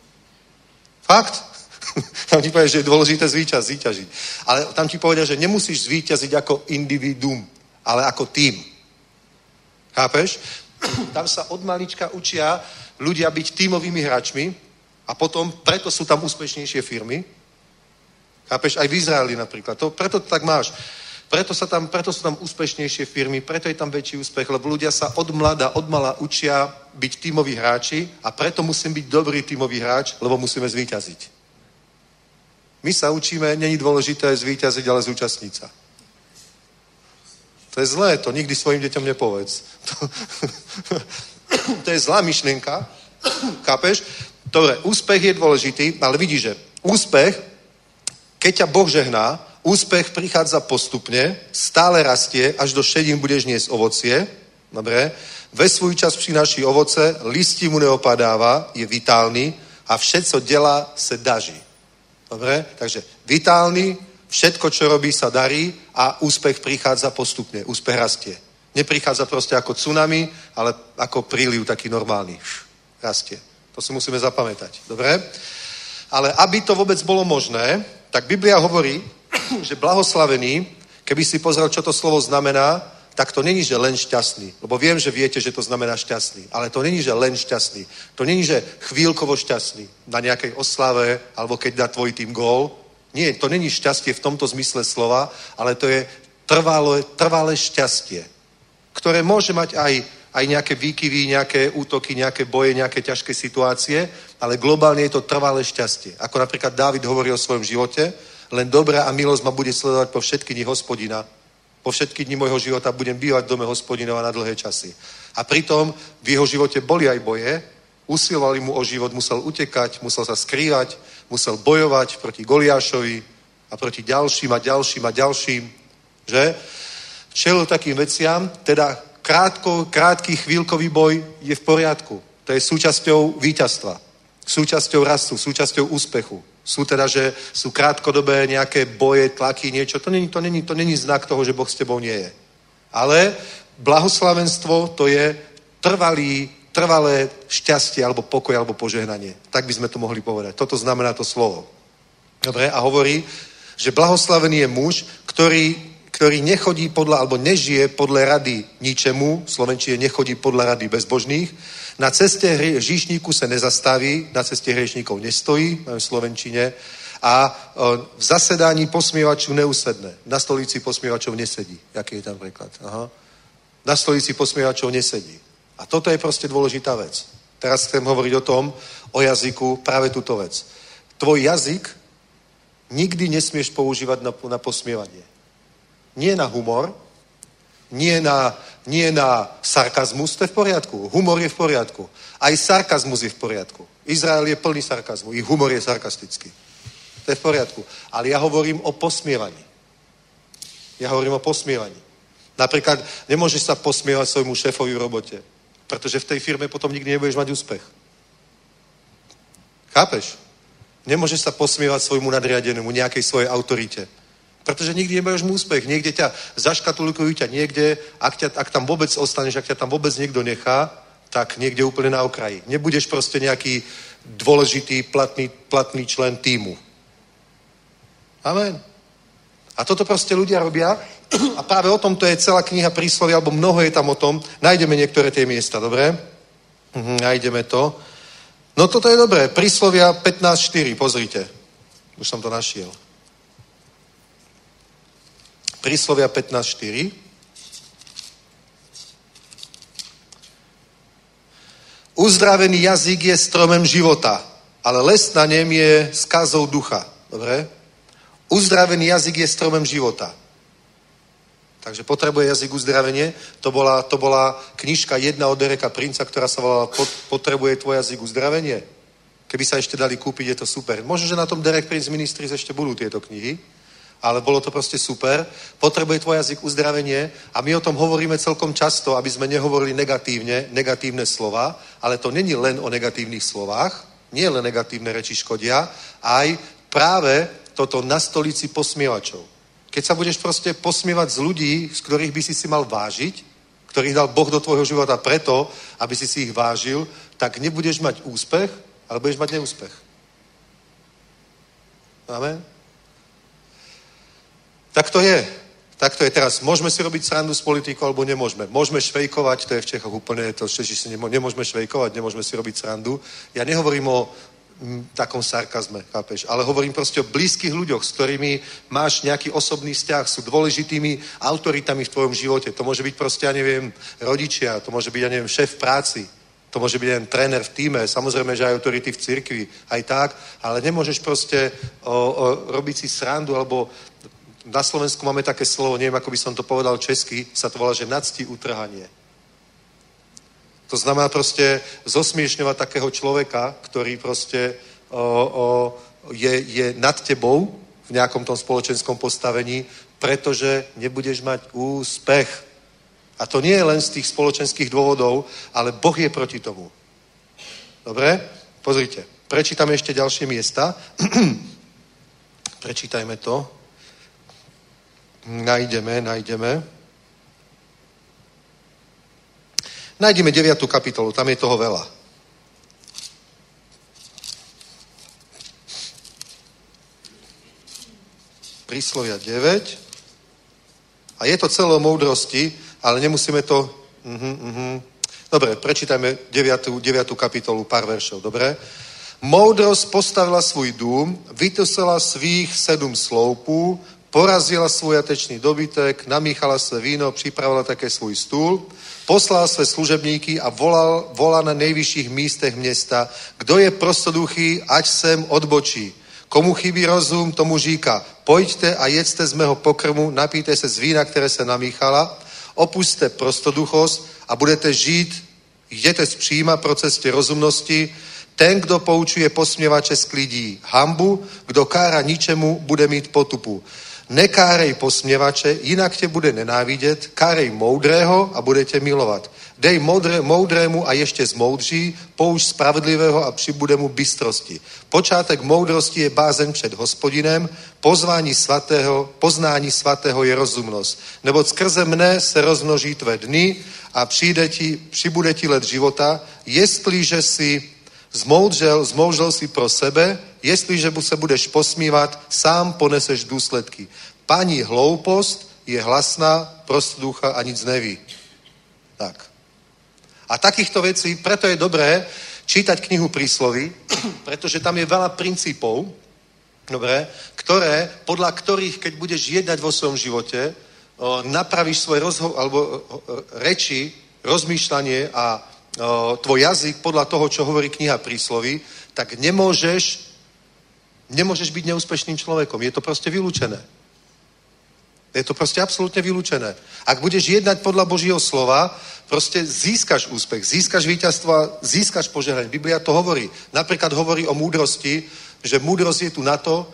Speaker 3: Fakt? Tam ti povie, že je dôležité zvíťaziť. Ale tam ti povedia, že nemusíš zvíťaziť ako individuum, ale ako tým. Chápeš? Tam sa od malička učia ľudia byť tímovými hráčmi a potom preto sú tam úspešnejšie firmy. Chápeš? Aj v Izraeli napríklad. Preto to tak máš. Preto sú tam úspešnejšie firmy, preto je tam väčší úspech, lebo ľudia sa od mala učia byť tímoví hráči a preto musím byť dobrý tímový hráč, lebo musíme zvíťaziť. My sa učíme, není dôležité zvíťaziť, ale zúčastniť sa. To je zlé, to nikdy svojim deťom nepovedz. To je zlá myšlienka, chápeš? Dobre, úspech je dôležitý, ale vidíš, že úspech, keď ťa Boh žehná, úspech prichádza postupne, stále rastie, až do šedín budeš niesť ovocie, dobre? Ve svůj čas přináší ovoce, listí mu neopadáva, je vitálny a všetko dělá se daží. Dobre? Takže vitálny, všetko, čo robí, sa darí a úspech prichádza postupne, úspech rastie. Neprichádza proste ako tsunami, ale ako príliv taký normálny. Rastie. To si musíme zapamätať. Dobre? Ale aby to vôbec bolo možné, tak Biblia hovorí, že blahoslavený, keby si pozrel, čo to slovo znamená, tak to není, že len šťastný. Lebo viem, že viete, že to znamená šťastný. Ale to není, že len šťastný. To není, že chvíľkovo šťastný na nejakej oslave, alebo keď dá tvoj tým gól. Nie, to není šťastie v tomto zmysle slova, ale to je trvalé šťastie, ktoré môže mať aj nejaké výkyvy, nejaké útoky, nejaké boje, nejaké ťažké situácie, ale globálne je to trvalé šťastie. Ako napríklad Dávid hovorí o svojom živote, len dobrá a milosť ma bude sledovať po všetky dni Hospodina. Po všetky dni môjho života budem bývať v dome Hospodinova na dlhé časy. A pritom v jeho živote boli aj boje, usilovali mu o život, musel utekať, musel sa skrývať, musel bojovať proti Goliášovi a proti ďalším a ďalším a ďalším, že? Čelil takým veciam, teda krátky chvíľkový boj je v poriadku. To je súčasťou víťazstva. súčasťou rastu, súčasťou úspechu. Sú teda, že sú krátkodobé nejaké boje, tlaky, niečo. To není znak toho, že Boh s tebou nie je. Ale blahoslavenstvo to je trvalé šťastie, alebo pokoj, alebo požehnanie. Tak by sme to mohli povedať. Toto znamená to slovo. Dobre, a hovorí, že blahoslavený je muž, ktorý nechodí podľa, alebo nežije podľa rady ničemu, v slovenčine nechodí podľa rady bezbožných, na ceste hříšníku se nezastaví, na ceste hriešníkov nestojí, v slovenčine, a v zasedání posmievačů neusedne. Na stolici posmievačov nesedí. Jaký je tam preklad? Aha. Na stolici posmievačov nesedí. A toto je proste dôležitá vec. Teraz chcem hovoriť o jazyku, práve túto vec. Tvoj jazyk nikdy nesmieš používať na posmievanie. Nie na humor, nie na sarkazmus, to je v poriadku. Humor je v poriadku. Aj sarkazmus je v poriadku. Izrael je plný sarkazmu, ich humor je sarkastický. To je v poriadku. Ale ja hovorím o posmievaní. Napríklad nemôžeš sa posmievať svojmu šéfovi v robote, pretože v tej firme potom nikdy nebudeš mať úspech. Chápeš? Nemôžeš sa posmievať svojmu nadriadenému, nejakej svojej autorite. Pretože nikdy nebudeš mu úspech. Niekde ťa zaškatulkujú ťa niekde, ak tam vôbec ostaneš, ak ťa tam vôbec niekto nechá, tak niekde úplne na okraji. Nebudeš proste nejaký dôležitý, platný člen tímu. Amen. A toto proste ľudia robia a práve o tom to je celá kniha Príslovia, alebo mnoho je tam o tom. Nájdeme niektoré tie miesta, dobre? Nájdeme to. No toto je dobré. Príslovia 15.4, pozrite. Už som to našiel. Príslovia 15.4. Uzdravený jazyk je stromem života, ale les na něm je skazou ducha. Dobre? Uzdravený jazyk je stromem života. Takže potrebuje jazyk uzdravenie. To bola knižka jedna od Dereka Princa, ktorá sa volala Potrebuje tvoj jazyk uzdravenie. Keby sa ešte dali kúpiť, je to super. Možno, že na tom Derek Prince Ministries ešte budú tieto knihy, ale bolo to proste super. Potrebuje tvoj jazyk uzdravenie a my o tom hovoríme celkom často, aby sme nehovorili negatívne slova, ale to není len o negatívnych slovách, nie len negatívne reči škodia, aj práve toto na stolici posmievačov. Keď sa budeš proste posmievať z ľudí, z ktorých by si mal vážiť, ktorých dal Boh do tvojho života preto, aby si ich vážil, tak nebudeš mať úspech, ale budeš mať neúspech. Amen? Tak to je. Teraz. Môžeme si robiť srandu s politikou, alebo nemôžeme. Môžeme švejkovať, to je v Čechoch úplne, to Češi si nemôžeme švejkovať, nemôžeme si robiť srandu. Ja nehovorím o takom sarkazme, chápeš? Ale hovorím proste o blízkych ľuďoch, s ktorými máš nejaký osobný vzťah, sú dôležitými autoritami v tvojom živote. To môže byť proste, ja neviem, rodičia, to môže byť, ja neviem, šéf v práci, to môže byť jeden tréner v tíme, samozrejme, že aj autority v cirkvi, aj tak, ale nemôžeš proste robiť si srandu, alebo na Slovensku máme také slovo, neviem, ako by som to povedal česky, sa to volá, že nadsti utrhanie. To znamená proste zosmiešňovať takého človeka, ktorý proste je nad tebou v nejakom tom spoločenskom postavení, pretože nebudeš mať úspech. A to nie je len z tých spoločenských dôvodov, ale Boh je proti tomu. Dobre? Pozrite. Prečítame ešte ďalšie miesta. Prečítajme to. Nájdeme 9. kapitolu, tam je toho veľa. Príslovia 9. A je to celé o moudrosti, ale nemusíme to... Dobre, prečítajme 9. kapitolu, pár veršov, dobre? Moudrosť postavila svůj dům, vytosila svých 7 sloupů, porazila svůj jatečný dobytek, namíchala své víno, připravila také svůj stůl, poslal své služebníky a volal na nejvyšších místech města, kdo je prostoduchý, ať sem odbočí. Komu chybí rozum, tomu říká, pojďte a jedzte z mého pokrmu, napijte se z vína, které se namíchala, opuste prostoduchost a budete žít, jděte z příjma pro cestě rozumnosti. Ten, kdo poučuje posměvače, sklidí hanbu, kdo kára ničemu, bude mít potupu. Nekárej posměvače, jinak tě bude nenávidět, kárej moudrého a bude tě milovat. Dej moudrému a ještě zmoudří, použ spravedlivého a přibude mu bystrosti. Počátek moudrosti je bázeň před Hospodinem, poznání svatého je rozumnost. Neboť skrze mne se rozmnoží tvé dny a přibude ti let života, jestliže si zmoudřel si pro sebe, jestliže se budeš posmívat, sám poneseš důsledky. Paní hloupost je hlasná, prostoducha a nic neví. Tak. A takýchto vecí, preto je dobré čítať knihu Prísloví, pretože tam je veľa princípov, dobre, podľa ktorých, keď budeš jednať vo svojom živote, napravíš svoj reči, rozmýšľanie a tvoj jazyk podľa toho, čo hovorí kniha Prísloví, tak nemôžeš byť neúspešným človekom. Je to proste vylúčené. Je to proste absolútne vylúčené. Ak budeš jednať podľa Božího slova, proste získaš úspech, získaš víťazstvo a získaš požehnanie. Biblia to hovorí. Napríklad hovorí o múdrosti, že múdrosť je tu na to,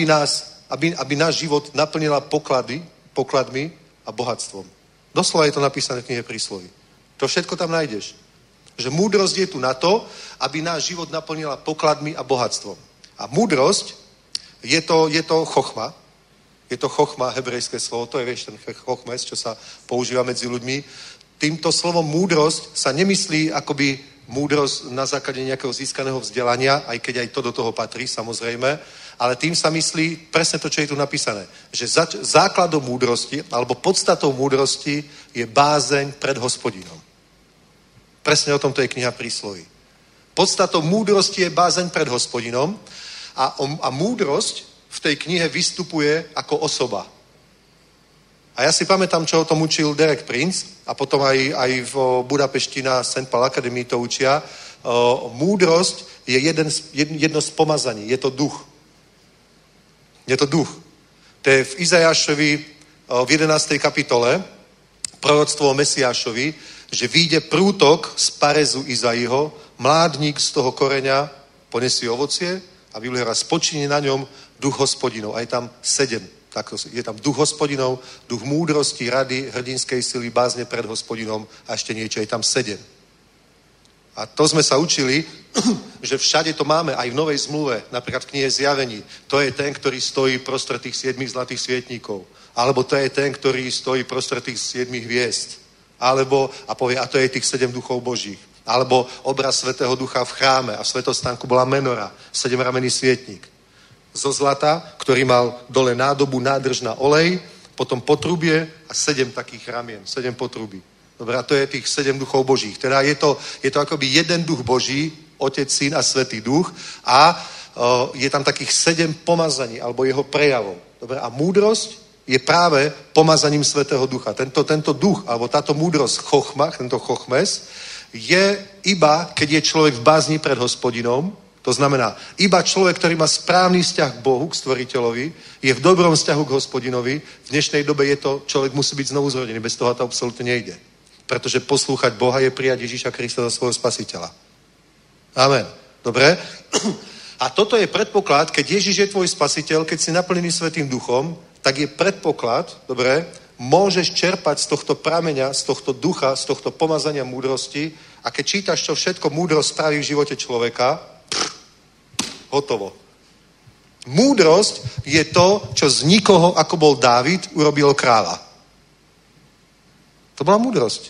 Speaker 3: aby náš život naplnila pokladmi a bohatstvom. Doslova je to napísané v knihe Prísloví. To všetko tam nájdeš. Že múdrosť je tu na to, aby náš život naplnila pokladmi a bohatstvom. A múdrosť je to chochma. Je to chochma, hebrejské slovo, to je, vieš, ten chochmes, čo sa používa medzi ľuďmi. Týmto slovom múdrosť sa nemyslí akoby múdrosť na základe nejakého získaného vzdelania, aj keď aj to do toho patrí, samozrejme, ale tým sa myslí presne to, čo je tu napísané. Že základom múdrosti, alebo podstatou múdrosti je bázeň pred Hospodinom. Presne o tomto je kniha Prísloví. Podstatou múdrosti je bázeň pred Hospodinom a múdrosť v tej knihe vystupuje ako osoba. A ja si pamätám, čo o tom učil Derek Prince a potom aj v Budapešti na St. Paul Academy to učia. Múdrosť je jedno z pomazaní. Je to duch. Je to duch. To je v Izajášovi v 11. kapitole proroctvo o Mesiášovi, že vyjde prútok z parezu Izaiho, mládník z toho koreňa ponesie ovocie a Biblia spočinie na ňom duch Hospodinov. A je tam 7. Je tam duch Hospodinov, duch múdrosti, rady, hrdinskej sily, bázne pred Hospodinom a ešte niečo. Je tam 7. A to sme sa učili, že všade to máme, aj v Novej zmluve, napríklad v knihe Zjavení. To je ten, ktorý stojí prostred tých 7 zlatých svietníkov. Alebo to je ten, ktorý stojí prostred tých 7 hviezd. Alebo, a povie, a to je tých 7 duchov Božích. Alebo obraz Svätého Ducha v chráme a v svätostánku bola menora, 7ramenný svietnik zo zlata, ktorý mal dole nádobu, nádrž na olej, potom potrubie a 7 takých ramien, 7 potrubí. Dobre, a to je tých 7 duchov Božích. Teda je to akoby jeden duch Boží, Otec, Syn a Svätý Duch a je tam takých 7 pomazaní, alebo jeho prejavov. Dobre, a múdrosť je práve pomazaním Svätého Ducha. Tento duch, alebo táto múdrosť chochmach, tento chochmes, je iba, keď je človek v bázni pred Hospodinom. To znamená, iba človek, ktorý má správny vzťah k Bohu, k Stvoriteľovi, je v dobrom vzťahu k Hospodinovi. V dnešnej dobe je to, človek musí byť znovu zrodený, bez toho to absolútne nejde. Pretože poslúchať Boha je prijať Ježíša Krista za svojho spasiteľa. Amen. Dobre? A toto je predpoklad, keď Ježíš je tvoj spasiteľ, keď si naplnený Svätým Duchom, tak je predpoklad, dobre, môžeš čerpať z tohto prameňa, z tohto ducha, z tohto pomazania múdrosti a keď čítaš, čo všetko múdrosť spraví v živote človeka, hotovo. Múdrosť je to, čo z nikoho, ako bol Dávid, urobil kráľa. To bola múdrosť.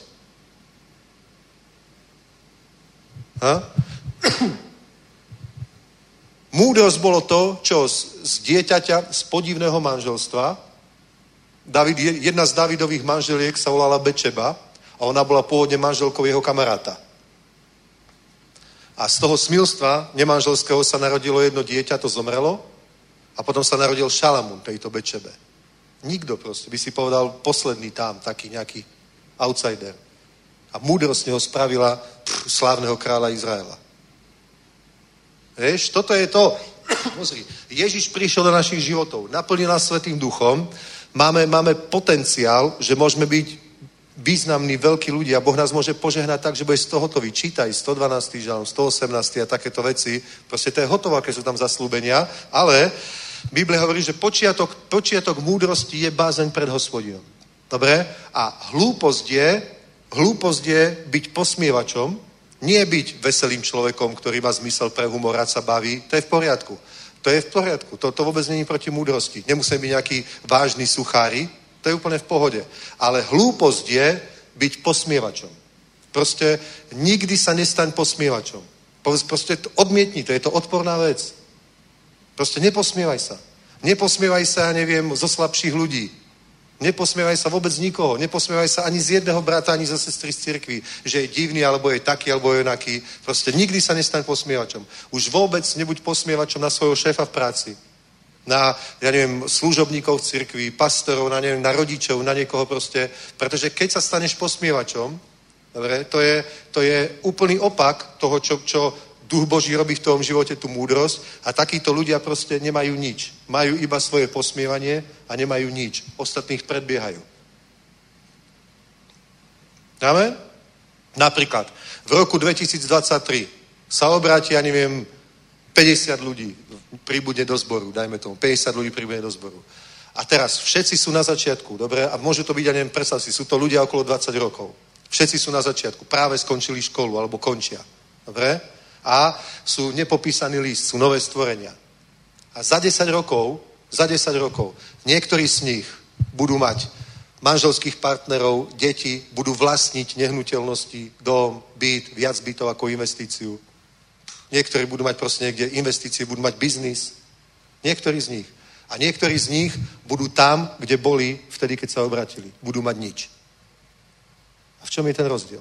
Speaker 3: Múdrosť bolo to, čo z dieťaťa, z podivného manželstva, jedna z Dávidových manželiek sa volala Bečeba a ona bola pôvodne manželkou jeho kamaráta. A z toho smilstva nemanželského sa narodilo jedno dieťa, to zomrelo a potom sa narodil Šalamún tejto Bečebe. Nikto proste by si povedal posledný tam, taký nejaký outsider. A múdrosť neho spravila slávneho kráľa Izraela. Vieš, toto je to. Pozri, Ježiš prišiel do našich životov, naplnil nás Svätým Duchom, máme potenciál, že môžeme byť významní, veľkí ľudia. Boh nás môže požehnať tak, že bude z toho hotový. Čítaj 112. žalm, 118. a takéto veci. Proste to je hotovo, aké sú tam zaslúbenia, ale Biblia hovorí, že počiatok múdrosti je bázeň pred Hospodinom. Dobre? A hlúposť Hlúposť je byť posmievačom, nie byť veselým človekom, ktorý má zmysel pre humor, rád sa baví. To je v poriadku. To je v poriadku. To vôbec není proti múdrosti. Nemusíme byť nejaký vážny suchári. To je úplne v pohode. Ale hlúposť je byť posmievačom. Proste nikdy sa nestaň posmievačom. Proste odmietni to. Je to odporná vec. Proste neposmievaj sa. Neposmievaj sa, neviem, zo slabších ľudí. Neposmievaj sa vôbec nikoho. Neposmievaj sa ani z jedného brata, ani zo sestry z cirkvi, že je divný, alebo je taký, alebo je onaký. Proste nikdy sa nestaň posmievačom. Už vôbec nebuď posmievačom na svojho šéfa v práci. Na, ja neviem, služobníkov v cirkvi, pastorov, na rodičov, na niekoho proste. Pretože keď sa staneš posmievačom, dobre, to je úplný opak toho, čo Duch Boží robí v tom živote, tú múdrosť, a takíto ľudia proste nemajú nič. Majú iba svoje posmievanie a nemajú nič. Ostatných predbiehajú. Amen? Napríklad, v roku 2023 sa obráti, ja neviem, 50 ľudí príbude do zboru, dajme tomu, 50 ľudí príbude do zboru. A teraz všetci sú na začiatku, dobre? A môže to byť, ja neviem, predstav si, sú to ľudia okolo 20 rokov. Všetci sú na začiatku, práve skončili školu, alebo končia. Dobre? A sú nepopísaný list, sú nové stvorenia. A za 10 rokov, niektorí z nich budú mať manželských partnerov, deti, budú vlastniť nehnuteľnosti, dom, byt, viac bytov ako investíciu. Niektorí budú mať proste niekde investície, budú mať biznis. Niektorí z nich. A niektorí z nich budú tam, kde boli vtedy, keď sa obratili. Budú mať nič. A v čom je ten rozdiel?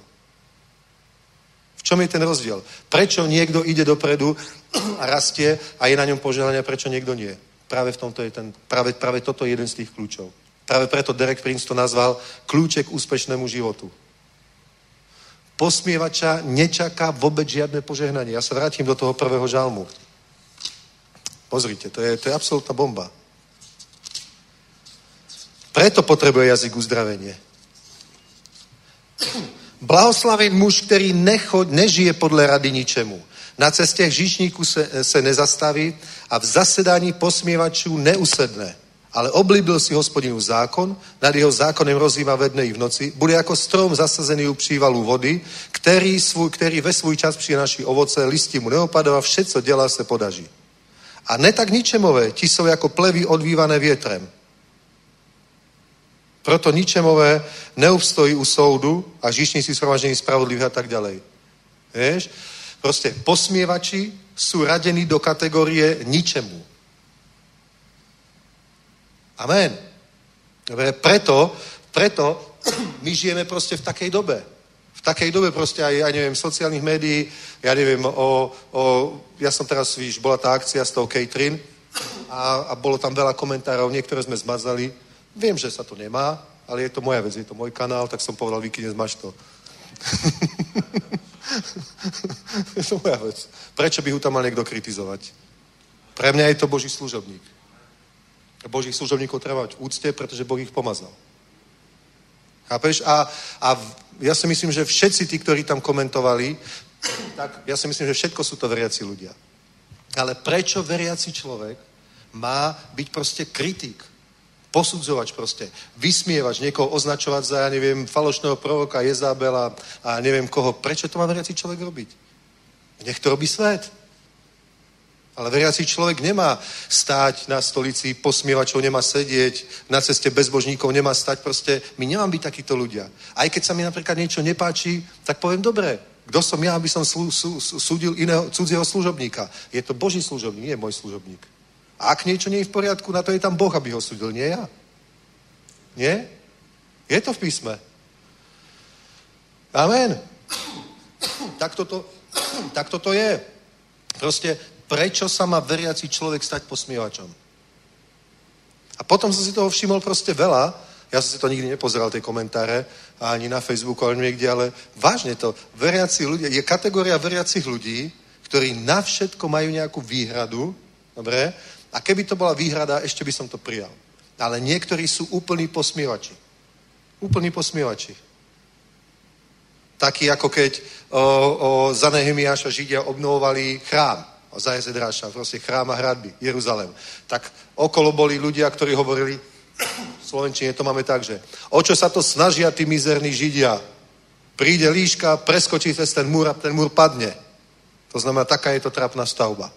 Speaker 3: V čom je ten rozdiel? Prečo niekto ide dopredu a rastie a je na ňom požehnanie, prečo niekto nie? Práve v tomto je práve toto je jeden z tých kľúčov. Práve preto Derek Prince to nazval kľúček k úspešnému životu. Posmievača nečaká vôbec žiadne požehnanie. Ja sa vrátim do toho prvého žalmu. Pozrite, to je absolútna bomba. Preto potrebuje jazyk uzdravenie. Blahoslaven muž, který nežije podle rady ničemu. Na cestě hříšníků se nezastaví a v zasedání posmievačů neusedne. Ale oblíbil si Hospodinův zákon, nad jeho zákonem rozhývá ve dne i v noci, bude jako strom zasazený u přívalu vody, který ve svůj čas přináší ovoce, listí mu neopadá a vše, co dělá, se podaří. A ne tak ničemové, ti jsou jako plevy odvívané větrem. Proto ničemové neobstojí u soudu a hříšníci shromaždení spravodlivých a tak ďalej. Vieš? Proste posmievači sú radení do kategórie ničemu. Amen. Dobre, preto my žijeme proste v takej dobe. V takej dobe proste aj, ja neviem, sociálnych médií, ja neviem, ja som teraz, víš, bola tá akcia s tou Catherine a bolo tam veľa komentárov, niektoré sme zmazali. Viem, že sa to nemá, ale je to moja vec, je to môj kanál, tak som povedal, Viki, nezmaž to. Je to moja vec. Prečo by ho tam mal niekto kritizovať? Pre mňa je to Boží služobník. Božích služobníkov treba mať v úcte, pretože Boh ich pomazal. Chápeš? A ja si myslím, že všetci tí, ktorí tam komentovali, tak ja si myslím, že všetko sú to veriaci ľudia. Ale prečo veriaci človek má byť proste kritik? Posudzovač proste, vysmievač, niekoho označovať za, ja neviem, falošného proroka, Jezabela a neviem koho. Prečo to má veriaci človek robiť? Nech to robí svet. Ale veriaci človek nemá stáť na stolici posmievačov, nemá sedieť na ceste bezbožníkov, nemá stať proste. My nemám byť takíto ľudia. Aj keď sa mi napríklad niečo nepáči, tak poviem, dobre, kto som ja, aby som súdil iného cudzieho služobníka? Je to Boží služobník, nie môj služobník. A ak niečo nie je v poriadku, na to je tam Boh, aby ho súdil, nie ja. Nie? Je to v písme. Amen. Tak toto je. Proste, prečo sa má veriaci človek stať posmievačom? A potom som si toho všimol proste veľa. Ja som si to nikdy nepozeral, tie komentáre, ani na Facebooku, ani niekde, ale vážne to. Veriaci ľudia, je kategória veriacich ľudí, ktorí na všetko majú nejakú výhradu, dobre? A keby to bola výhrada, ešte by som to prijal. Ale niektorí sú úplní posmievači. Úplní posmievači. Takí, ako keď za Nehemiáša Židia obnovovali chrám. Za Ezedráša, proste chrám a hradby, Jeruzalém. Tak okolo boli ľudia, ktorí hovorili, v slovenčine to máme tak, že o čo sa to snažia tí mizerní Židia? Príde líška, preskočí cez ten múr a ten múr padne. To znamená, taká je to trápna stavba.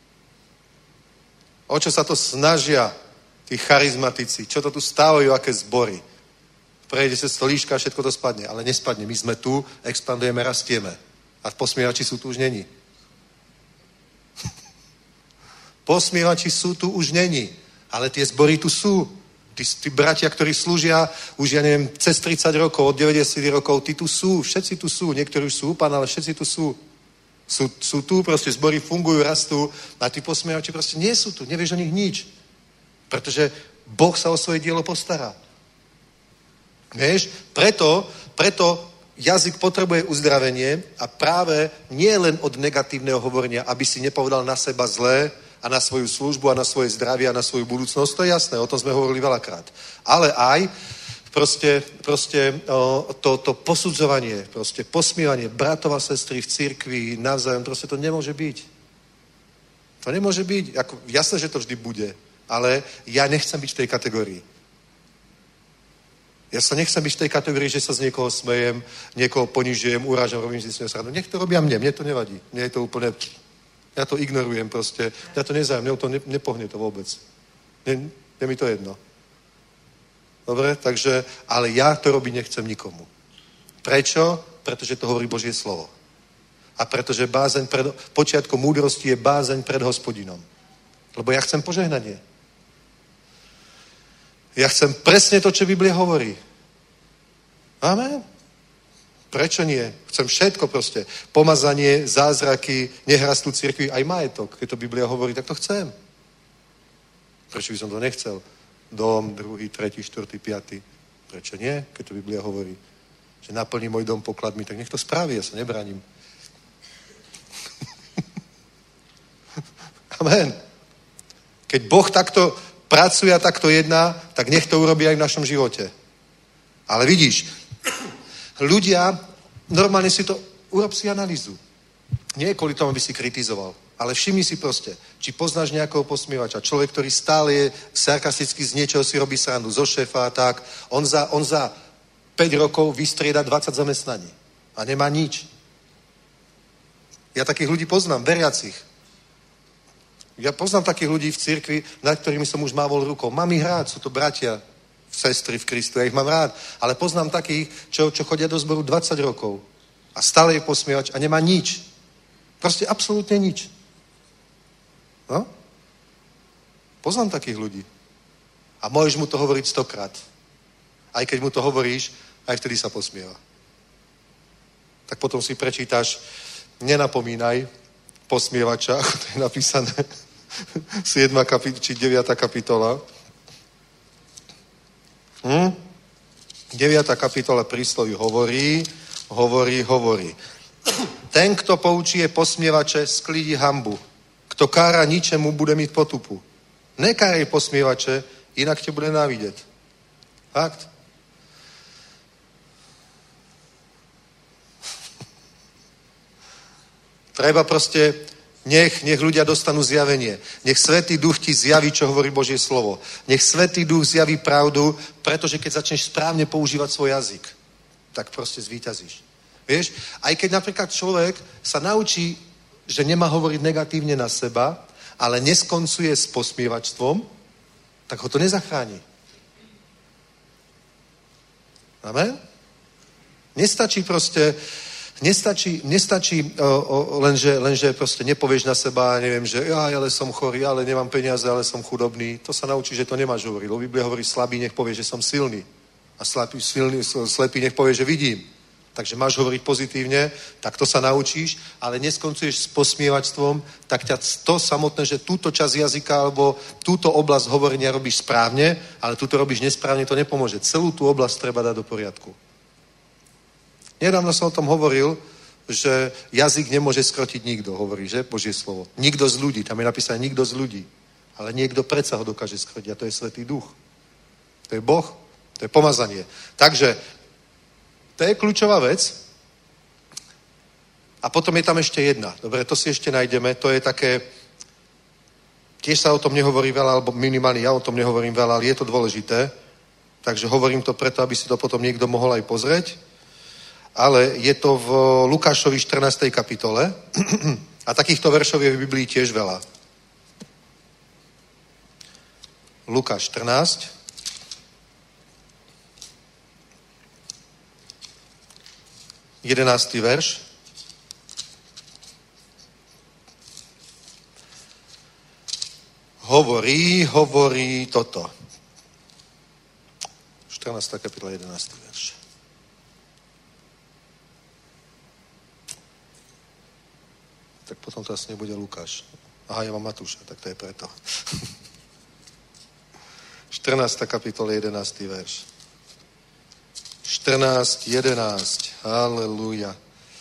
Speaker 3: O čo sa to snažia tí charizmatici? Čo to tu stávajú, aké zbory? Prejde cez to líška a všetko to spadne. Ale nespadne. My sme tu, expandujeme, rastieme. A posmievači sú tu už není. Posmievači sú tu už není. Ale tie zbory tu sú. Tí bratia, ktorí slúžia už, ja neviem, cez 30 rokov, od 90 rokov, tí tu sú. Všetci tu sú. Niektorí už sú úplne, ale všetci tu sú. Sú tu, proste zbory fungujú, rastú. A tí posmievači proste nie sú tu. Nevieš o nich nič. Pretože Boh sa o svoje dielo postará. Vieš? Preto jazyk potrebuje uzdravenie a práve nie len od negatívneho hovorenia, aby si nepovedal na seba zlé a na svoju službu a na svoje zdravie a na svoju budúcnosť, to je jasné, o tom sme hovorili veľakrát. Ale aj to posudzovanie, posmievanie bratov a sestry v cirkvi navzájom, to nemôže byť. To nemôže byť. Jasné, že to vždy bude, ale ja nechcem byť v tej kategórii. Ja sa nechcem byť v tej kategórii, že sa z niekoho smejem, niekoho ponižujem, urážam, robím si s ním srandu. Nech to robia mne to nevadí. Mne je to úplne... Ja to ignorujem proste. Ja to nezájem, mňa to nepohne to vôbec. Je mi to jedno. Dobre? Takže, ale ja to robiť nechcem nikomu. Prečo? Pretože to hovorí Božie slovo. A pretože počiatkom múdrosti je bázeň pred Hospodinom. Lebo ja chcem požehnanie. Ja chcem presne to, čo Biblia hovorí. Amen. Prečo nie? Chcem všetko proste. Pomazanie, zázraky, nehrastú cirkvi, aj majetok. Keď to Biblia hovorí, tak to chcem. Prečo by som to nechcel? Dom, 2., 3., 4., 5. Prečo nie? Keď to Biblia hovorí, že naplní môj dom pokladmi, tak nech to spraví, ja sa nebraním. Amen. Keď Boh takto pracuje a takto jedná, tak nech to urobí aj v našom živote. Ale vidíš, ľudia, normálne si to, urob si analýzu. Nie kvôli tomu, aby si kritizoval, ale všimni si proste, či poznáš nejakého posmievača, človek, ktorý stále je sarkasticky z niečoho si robí srandu, zo šéfa a tak, on za 5 rokov vystrieda 20 zamestnaní a nemá nič. Ja takých ľudí poznám, veriacich. Ja poznám takých ľudí v cirkvi, nad ktorými som už mávol rukou. Mám ich rád, sú to bratia, sestry v Kristu, ja ich mám rád, ale poznám takých, čo chodia do zboru 20 rokov a stále je posmievač a nemá nič. Proste absolútne nič. No? Poznám takých ľudí. A môžeš mu to hovoriť 100-krát. Aj keď mu to hovoríš, aj vtedy sa posmieva. Tak potom si prečítaš, nenapomínaj posmievača, ako to je napísané, 7. či 9. kapitola. 9. kapitola prísloví hovorí. Ten, kto poučí posmievače, sklidí hanbu. Kto kára ničemu, bude mít potupu. Nekárej posmievače, inak tě bude návidět. Fakt? Treba proste, nech ľudia dostanú zjavenie. Nech Svätý Duch ti zjaví, čo hovorí Božie slovo. Nech Svätý Duch zjaví pravdu, pretože keď začneš správne používať svoj jazyk, tak proste zvíťazíš. Vieš? Aj keď napríklad človek sa naučí, že nemá hovoriť negatívne na seba, ale neskoncuje s posmievačstvom, tak ho to nezachráni. Amen? Nestačí lenže proste nepovieš na seba, neviem, že ja ale som chorý, ale nemám peniaze, ale som chudobný. To sa naučí, že to nemáš hovoriť. Lebo Biblia hovorí, slabý nech povie, že som silný. A slepý nech povie, že vidím. Takže máš hovoriť pozitívne, tak to sa naučíš, ale neskoncuješ s posmievačstvom, tak ťa to samotné, že túto časť jazyka alebo túto oblasť hovorenia robíš správne, ale túto robíš nesprávne, to nepomôže. Celú tú oblasť treba dať do poriadku. Nedávno som o tom hovoril, že jazyk nemôže skrotiť nikto, hovorí, že? Božie slovo. Nikto z ľudí, tam je napísané nikto z ľudí. Ale niekto predsa ho dokáže skrotiť a to je Svätý Duch. To je Boh, to je pomazanie. Takže to je kľúčová vec. A potom je tam ešte jedna. Dobre, to si ešte nájdeme. To je také, tiež sa o tom nehovorí veľa, alebo minimálne ja o tom nehovorím veľa, ale je to dôležité. Takže hovorím to preto, aby si to potom niekto mohol aj pozrieť. ale je to v Lukášovi 14. kapitole a takýchto veršov je v Biblii tiež veľa. Lukáš 14. Jedenáctý verš. Hovorí toto. 14. kapitola, 11. verš. Tak potom to asi nebude Lukáš. Aha, ja mám Matúša, tak to je preto. 14. kapitola, 11. verš. 14:11. Halelúja.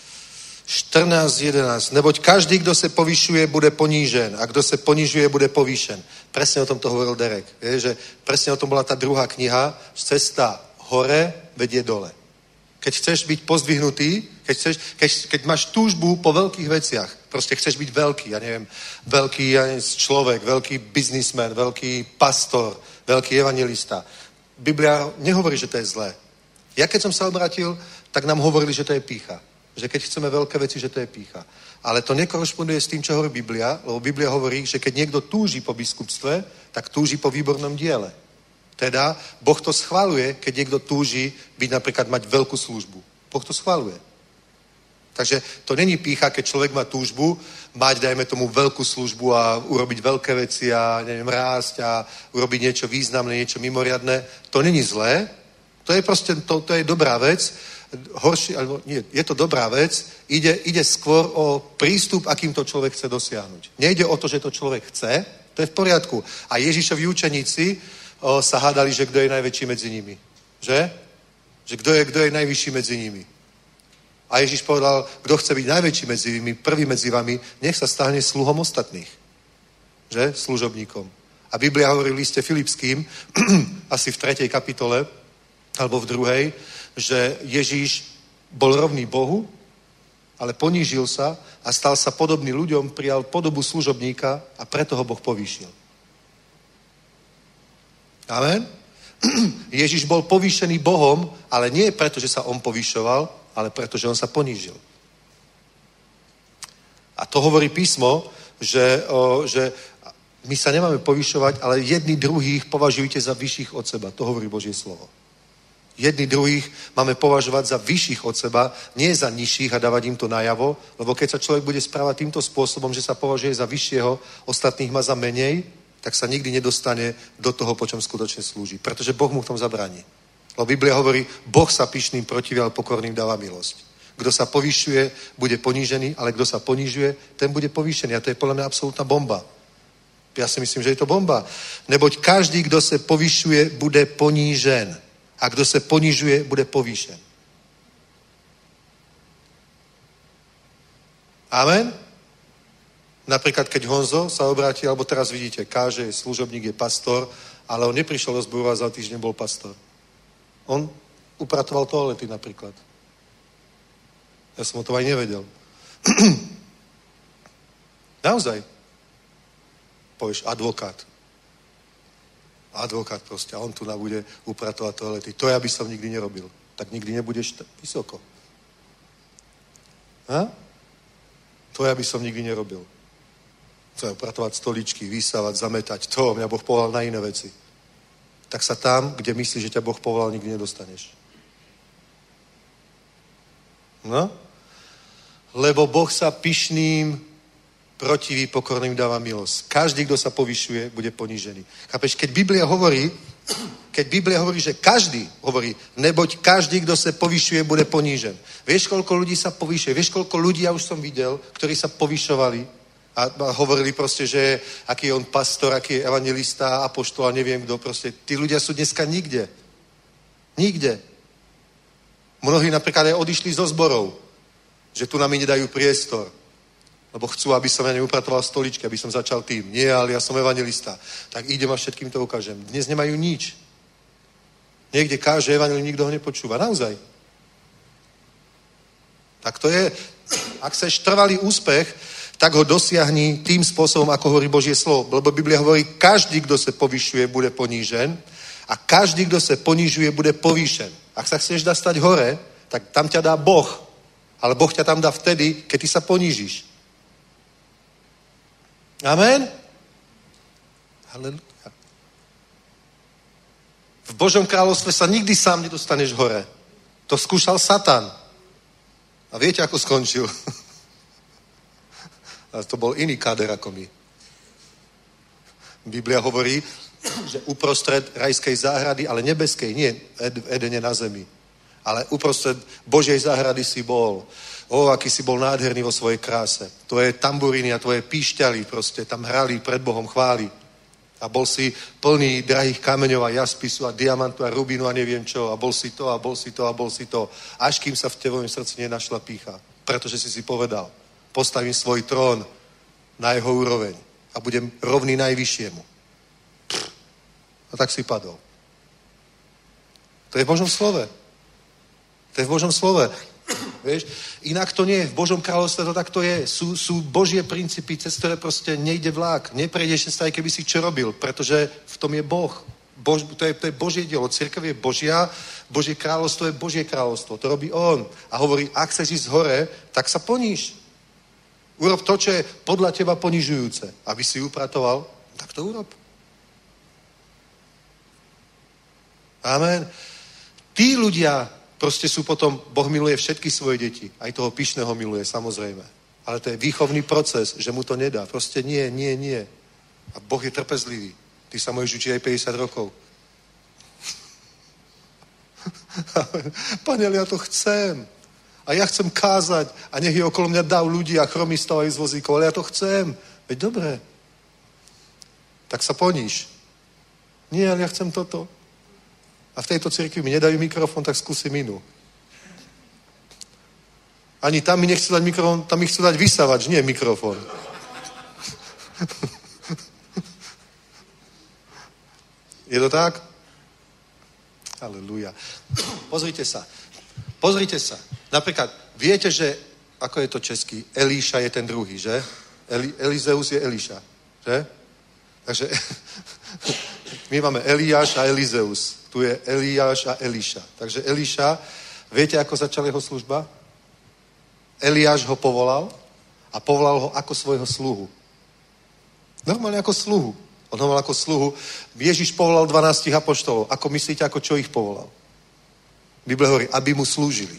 Speaker 3: 14:11. Neboť každý, kdo se povyšuje, bude ponížen. A kdo se ponižuje, bude povýšen. Presne o tom to hovoril Derek. Je, že presne o tom bola tá druhá kniha. Cesta hore vedie dole. Keď chceš byť pozdvihnutý, keď máš túžbu po veľkých veciach, proste chceš byť veľký, ja neviem, veľký človek, veľký biznismen, veľký pastor, veľký evangelista. Biblia nehovorí, že to je zlé. Ja keď som sa obrátil, tak nám hovorili, že to je pýcha. Že keď chceme veľké veci, že to je pýcha. Ale to nekorešponduje s tým, čo hovorí Biblia, lebo Biblia hovorí, že keď niekto túži po biskupstve, tak túži po výbornom diele. Teda Boh to schvaľuje, keď niekto túži byť napríklad mať veľkú službu. Boh to schvaľuje. Takže to není pýcha, keď človek má túžbu mať, dajme tomu, veľkú službu a urobiť veľké veci a neviem, rásť a urobiť niečo významné, niečo mimoriadne. To není zlé. To je proste, to je dobrá vec. Horší, alebo nie, je to dobrá vec. Ide skôr o prístup, akým to človek chce dosiahnuť. Nejde o to, že to človek chce, to je v poriadku. A Ježišovi učeníci sa hádali, že kto je najväčší medzi nimi. Že? Že kto je najvyšší medzi nimi. A Ježiš povedal, kto chce byť najväčší medzi nimi, prvý medzi vami, nech sa stane sluhom ostatných. Že? Služobníkom. A Biblia hovorí v liste Filipským, asi v 3. kapitole, alebo v 2., že Ježíš bol rovný Bohu, ale ponížil sa a stal sa podobný ľuďom, prijal podobu služobníka a preto ho Boh povýšil. Amen? Ježiš bol povýšený Bohom, ale nie preto, že sa on povýšoval, ale preto, že on sa ponížil. A to hovorí písmo, že my sa nemáme povýšovať, ale jedni druhých považujte za vyšších od seba. To hovorí Božie slovo. Jedni druhých máme považovať za vyšších od seba, nie za nižších a dávať im to najavo, lebo keď sa človek bude správať týmto spôsobom, že sa považuje za vyššieho, ostatných má za menej, tak sa nikdy nedostane do toho, po čom skutočne slúži. Pretože Boh mu v tom zabráni. Lebo Biblia hovorí, Boh sa pyšným protiví, ale pokorným dáva milosť. Kto sa povyšuje, bude ponížený, ale kto sa ponižuje, ten bude povýšený. A to je podľa mňa absolútna bomba. Ja si myslím, že je to bomba. Neboť každý, kdo se povyšuje, bude ponížen. A kdo se ponižuje, bude povýšen. Amen? Napríklad, keď Honzo sa obráti, alebo teraz vidíte, káže, je služobník, je pastor, ale on neprišiel do zboru a za týždeň bol pastor. On upratoval toalety napríklad. Ja som o tom aj nevedel. Naozaj. Povieš, advokát. Advokát proste. A on tu bude upratovať toalety. To ja by som nikdy nerobil. Tak nikdy nebudeš vysoko. Ha? To ja by som nikdy nerobil. To je upratovať stoličky, vysávať, zametať. To mňa Boh povolal na iné veci. Tak sa tam, kde myslíš, že ťa Boh povolal, nikdy nedostaneš. No? Lebo Boh sa pyšným protiví, pokorným dáva milosť. Každý, kto sa povyšuje, bude ponížený. Chápeš? Keď Biblia hovorí, že každý hovorí, neboť každý, kto sa povyšuje, bude ponížen. Vieš, koľko ľudí sa povyšuje? Vieš, koľko ľudí ja už som videl, ktorí sa povyšovali a hovorili proste, že aký je on pastor, aký je evangelista, apoštol a neviem kto proste. Tí ľudia sú dneska nikde. Nikde. Mnohí napríklad aj odišli zo zborov, že tu nám nedajú priestor. Lebo chcú, aby som ja neupratoval stoličky, aby som začal tým. Nie, ale ja som evangelista. Tak idem a všetkým to ukážem. Dnes nemajú nič. Niekde káže evangelii, nikto ho nepočúva. Naozaj. Tak to je, ak chceš trvalý úspech, tak ho dosiahni tým spôsobom, ako hovorí Božie slovo. Lebo Biblia hovorí, každý, kto sa povyšuje, bude ponížen a každý, kto sa ponižuje, bude povýšen. Ak sa chceš dostať hore, tak tam ťa dá Boh. Ale Boh ťa tam dá vtedy, keď ty sa ponížiš. Amen? Halelujá. V Božom kráľovstve sa nikdy sám nedostaneš hore. To skúšal Satan. A viete, ako skončil? Ale to bol iný káder ako my. Biblia hovorí, že uprostred rajskej záhrady, ale nebeskej, nie v Edene na zemi, ale uprostred Božej záhrady si bol. Aký si bol nádherný vo svojej kráse. Tvoje tamburíny a tvoje píšťaly proste tam hrali pred Bohom chvály. A bol si plný drahých kameňov a jaspisu a diamantu a rubínu a neviem čo. A bol si to a bol si to a bol si to. Až kým sa v tvojom srdci nenašla pýcha. Pretože si povedal, postavím svoj trón na jeho úroveň a budem rovný najvyššiemu. A tak si padol. To je v Božom slove. To je v Božom slove. Vieš? Inak to nie je. V Božom kráľovstve to takto je. Sú Božie princípy, cez ktoré proste nejde vlák. Neprejdeš sa, aj keby si čo robil, pretože v tom je Boh. To je Božie dielo. Cirkev je Božia, Božie kráľovstvo je Božie kráľovstvo. To robí On. A hovorí, ak chceš ísť hore, tak sa poníž. Urob to, čo je podľa teba ponižujúce. Aby si upratoval, tak to urob. Amen. Tí ľudia proste sú potom, Boh miluje všetky svoje deti. Aj toho pyšného miluje, samozrejme. Ale to je výchovný proces, že mu to nedá. Proste nie. A Boh je trpezlivý. Ty sa môžeš učiť aj 50 rokov. Pane, ja to chcem. A ja chcem kázať. A nech je okolo mňa dav ľudí a chromy stávajú z vozíkov. Ale ja to chcem. Veď dobre. Tak sa poníž. Nie, ale ja chcem toto. A v tejto cirkvi mi nedajú mikrofón, tak skúsim inú. Ani tam mi nechcú dať mikrofón, tam mi chcú dať vysavač, nie mikrofón. Je to tak? Halelúja. Pozrite sa. Napríklad, viete, že, ako je to český, Elíša je ten druhý, že? Elizeus je Elíša, že? Takže my máme Eliáš a Elizeus. Tu je Eliáš a Elíša. Takže Elíša, viete, ako začala jeho služba? Eliáš ho povolal a povolal ho ako svojho sluhu. Normálne ako sluhu. On ho mal ako sluhu. Ježiš povolal 12 apoštolov. Ako myslíte, ako čo ich povolal? Biblia hovorí, aby mu slúžili.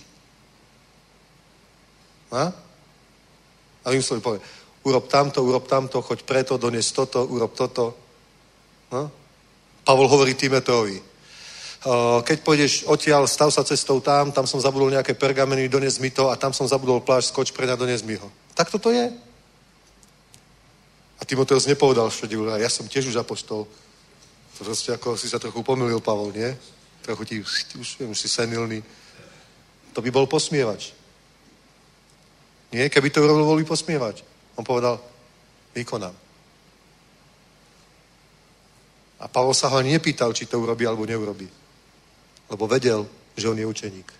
Speaker 3: A im slúžili, povie, urob tamto, choď preto, dones toto, urob toto. A? Pavol hovorí Timoteovi, keď pôjdeš odtiaľ, stav sa cestou tam som zabudol nejaké pergameny, dones mi to a tam som zabudol plášť, skoč preň a dones mi ho. Tak toto je. A Timoteus nepovedal všade, ja som tiež už apoštol. To proste ako si sa trochu pomýlil, Pavol, nie? Trochu ti, už si senilný. To by bol posmievač. Nie? Keby to urobil, bol by posmievač. On povedal, vykonám. A Pavol sa ho ani nepýtal, či to urobí alebo neurobí. Lebo vedel, že on je učeník.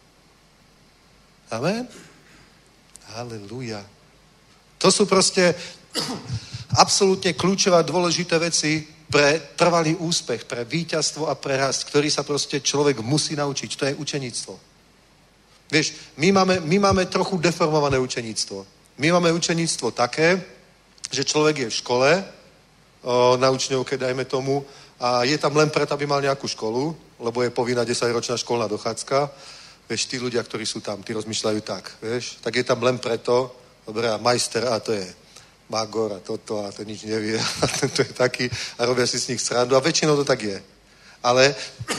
Speaker 3: Amen? Halelúja. To sú proste absolútne kľúčové a dôležité veci pre trvalý úspech, pre víťazstvo a pre rast, ktorý sa proste človek musí naučiť. To je učeníctvo. Vieš, my máme trochu deformované učeníctvo. My máme učeníctvo také, že človek je v škole, na učňovke, dajme tomu, a je tam len preto, aby mal nejakú školu, lebo je povinná 10-ročná školná dochádzka. Vieš, tí ľudia, ktorí sú tam, tí rozmýšľajú tak, vieš, tak je tam len preto, dobre, a majster, a to je magor, a toto, a to nič nevie, a tento je taký, a robia si s nich srandu, a väčšinou to tak je. Ale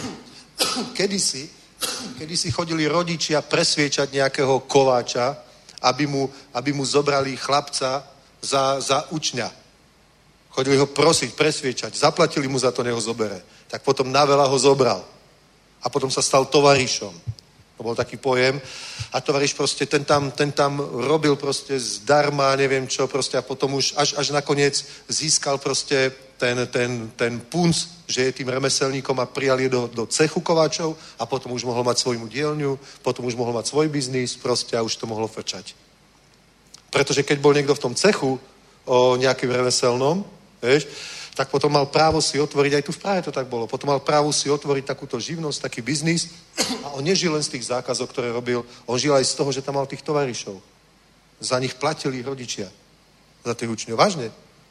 Speaker 3: kedysi chodili rodičia presviečať nejakého kováča, aby mu zobrali chlapca za učňa. Chodili ho prosiť, presviečať, zaplatili mu za to, nech ho zobere. Tak potom naveľa ho zobral. A potom sa stal tovarišom. To bol taký pojem. A tovariš proste, ten tam robil proste zdarma, neviem čo, proste a potom už až nakoniec získal proste ten punc, že je tým remeselníkom a prijali do cechu kováčov a potom už mohol mať svoju dielňu, potom už mohol mať svoj biznis proste a už to mohlo frčať. Pretože keď bol niekto v tom cechu o nejakým remeselnom, vieš, tak potom mal právo si otvoriť, aj tu v Prahe to tak bolo, potom mal právo si otvoriť takúto živnosť, taký biznis a on nežil len z tých zákazov, ktoré robil, on žil aj z toho, že tam mal tých tovarišov. Za nich platili rodičia. Za tých učňov. Vážne.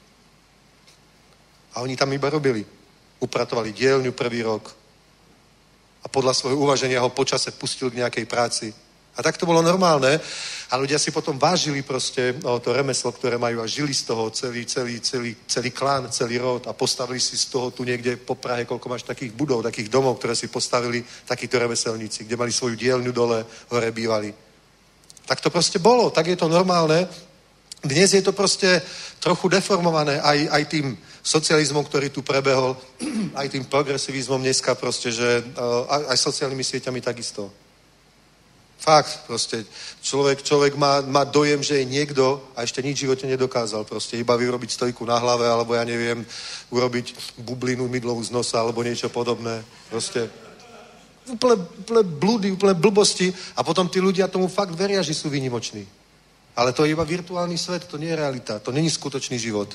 Speaker 3: A oni tam iba robili. Upratovali dielňu prvý rok a podľa svojho uvaženia ho počase pustil k nejakej práci. A tak to bolo normálne a ľudia si potom vážili proste to remeslo, ktoré majú a žili z toho celý klán, celý rod a postavili si z toho tu niekde po Prahe, koľko máš takých budov, takých domov, ktoré si postavili takíto remeselníci, kde mali svoju dielňu dole, hore bývali. Tak to proste bolo, tak je to normálne. Dnes je to proste trochu deformované aj tým socializmom, ktorý tu prebehol, aj tým progresivizmom dneska proste, že aj sociálnymi sieťami takisto. Fakt, proste. Človek má dojem, že je niekto a ešte nič v živote nedokázal. Proste iba vyrobiť stojku na hlave, alebo ja neviem, urobiť bublinu mydlovú z nosa, alebo niečo podobné. Proste úplne blúdy, úplne blbosti a potom tí ľudia tomu fakt veria, že sú výnimoční. Ale to je iba virtuálny svet, to nie je realita, to není skutočný život.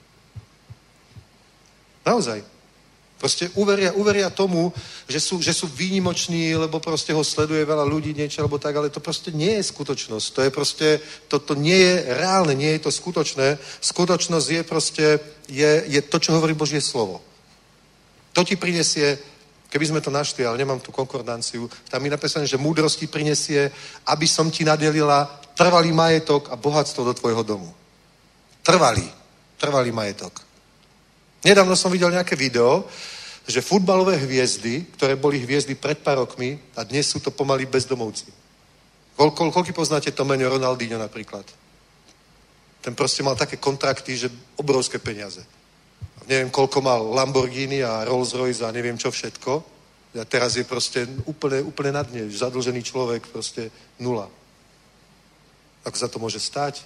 Speaker 3: Naozaj. Proste uveria tomu, že sú výnimoční, lebo proste ho sleduje veľa ľudí, niečo, alebo tak, ale to proste nie je skutočnosť. To je proste, to nie je reálne, nie je to skutočné. Skutočnosť je proste, je to, čo hovorí Božie slovo. To ti prinesie, keby sme to našli, ale nemám tu konkordanciu, tam je napísané, že múdrosti prinesie, aby som ti nadelila trvalý majetok a bohatstvo do tvojho domu. Trvalý majetok. Nedávno som videl nejaké video, že futbalové hviezdy, ktoré boli hviezdy pred pár rokmi a dnes sú to pomaly bezdomovci. Koľko poznáte to meno Ronaldinho napríklad? Ten proste mal také kontrakty, že obrovské peniaze. Neviem, koľko mal Lamborghini a Rolls Royce a neviem čo všetko. A teraz je proste úplne na dne. Zadlžený človek, proste nula. Ako za to môže stať?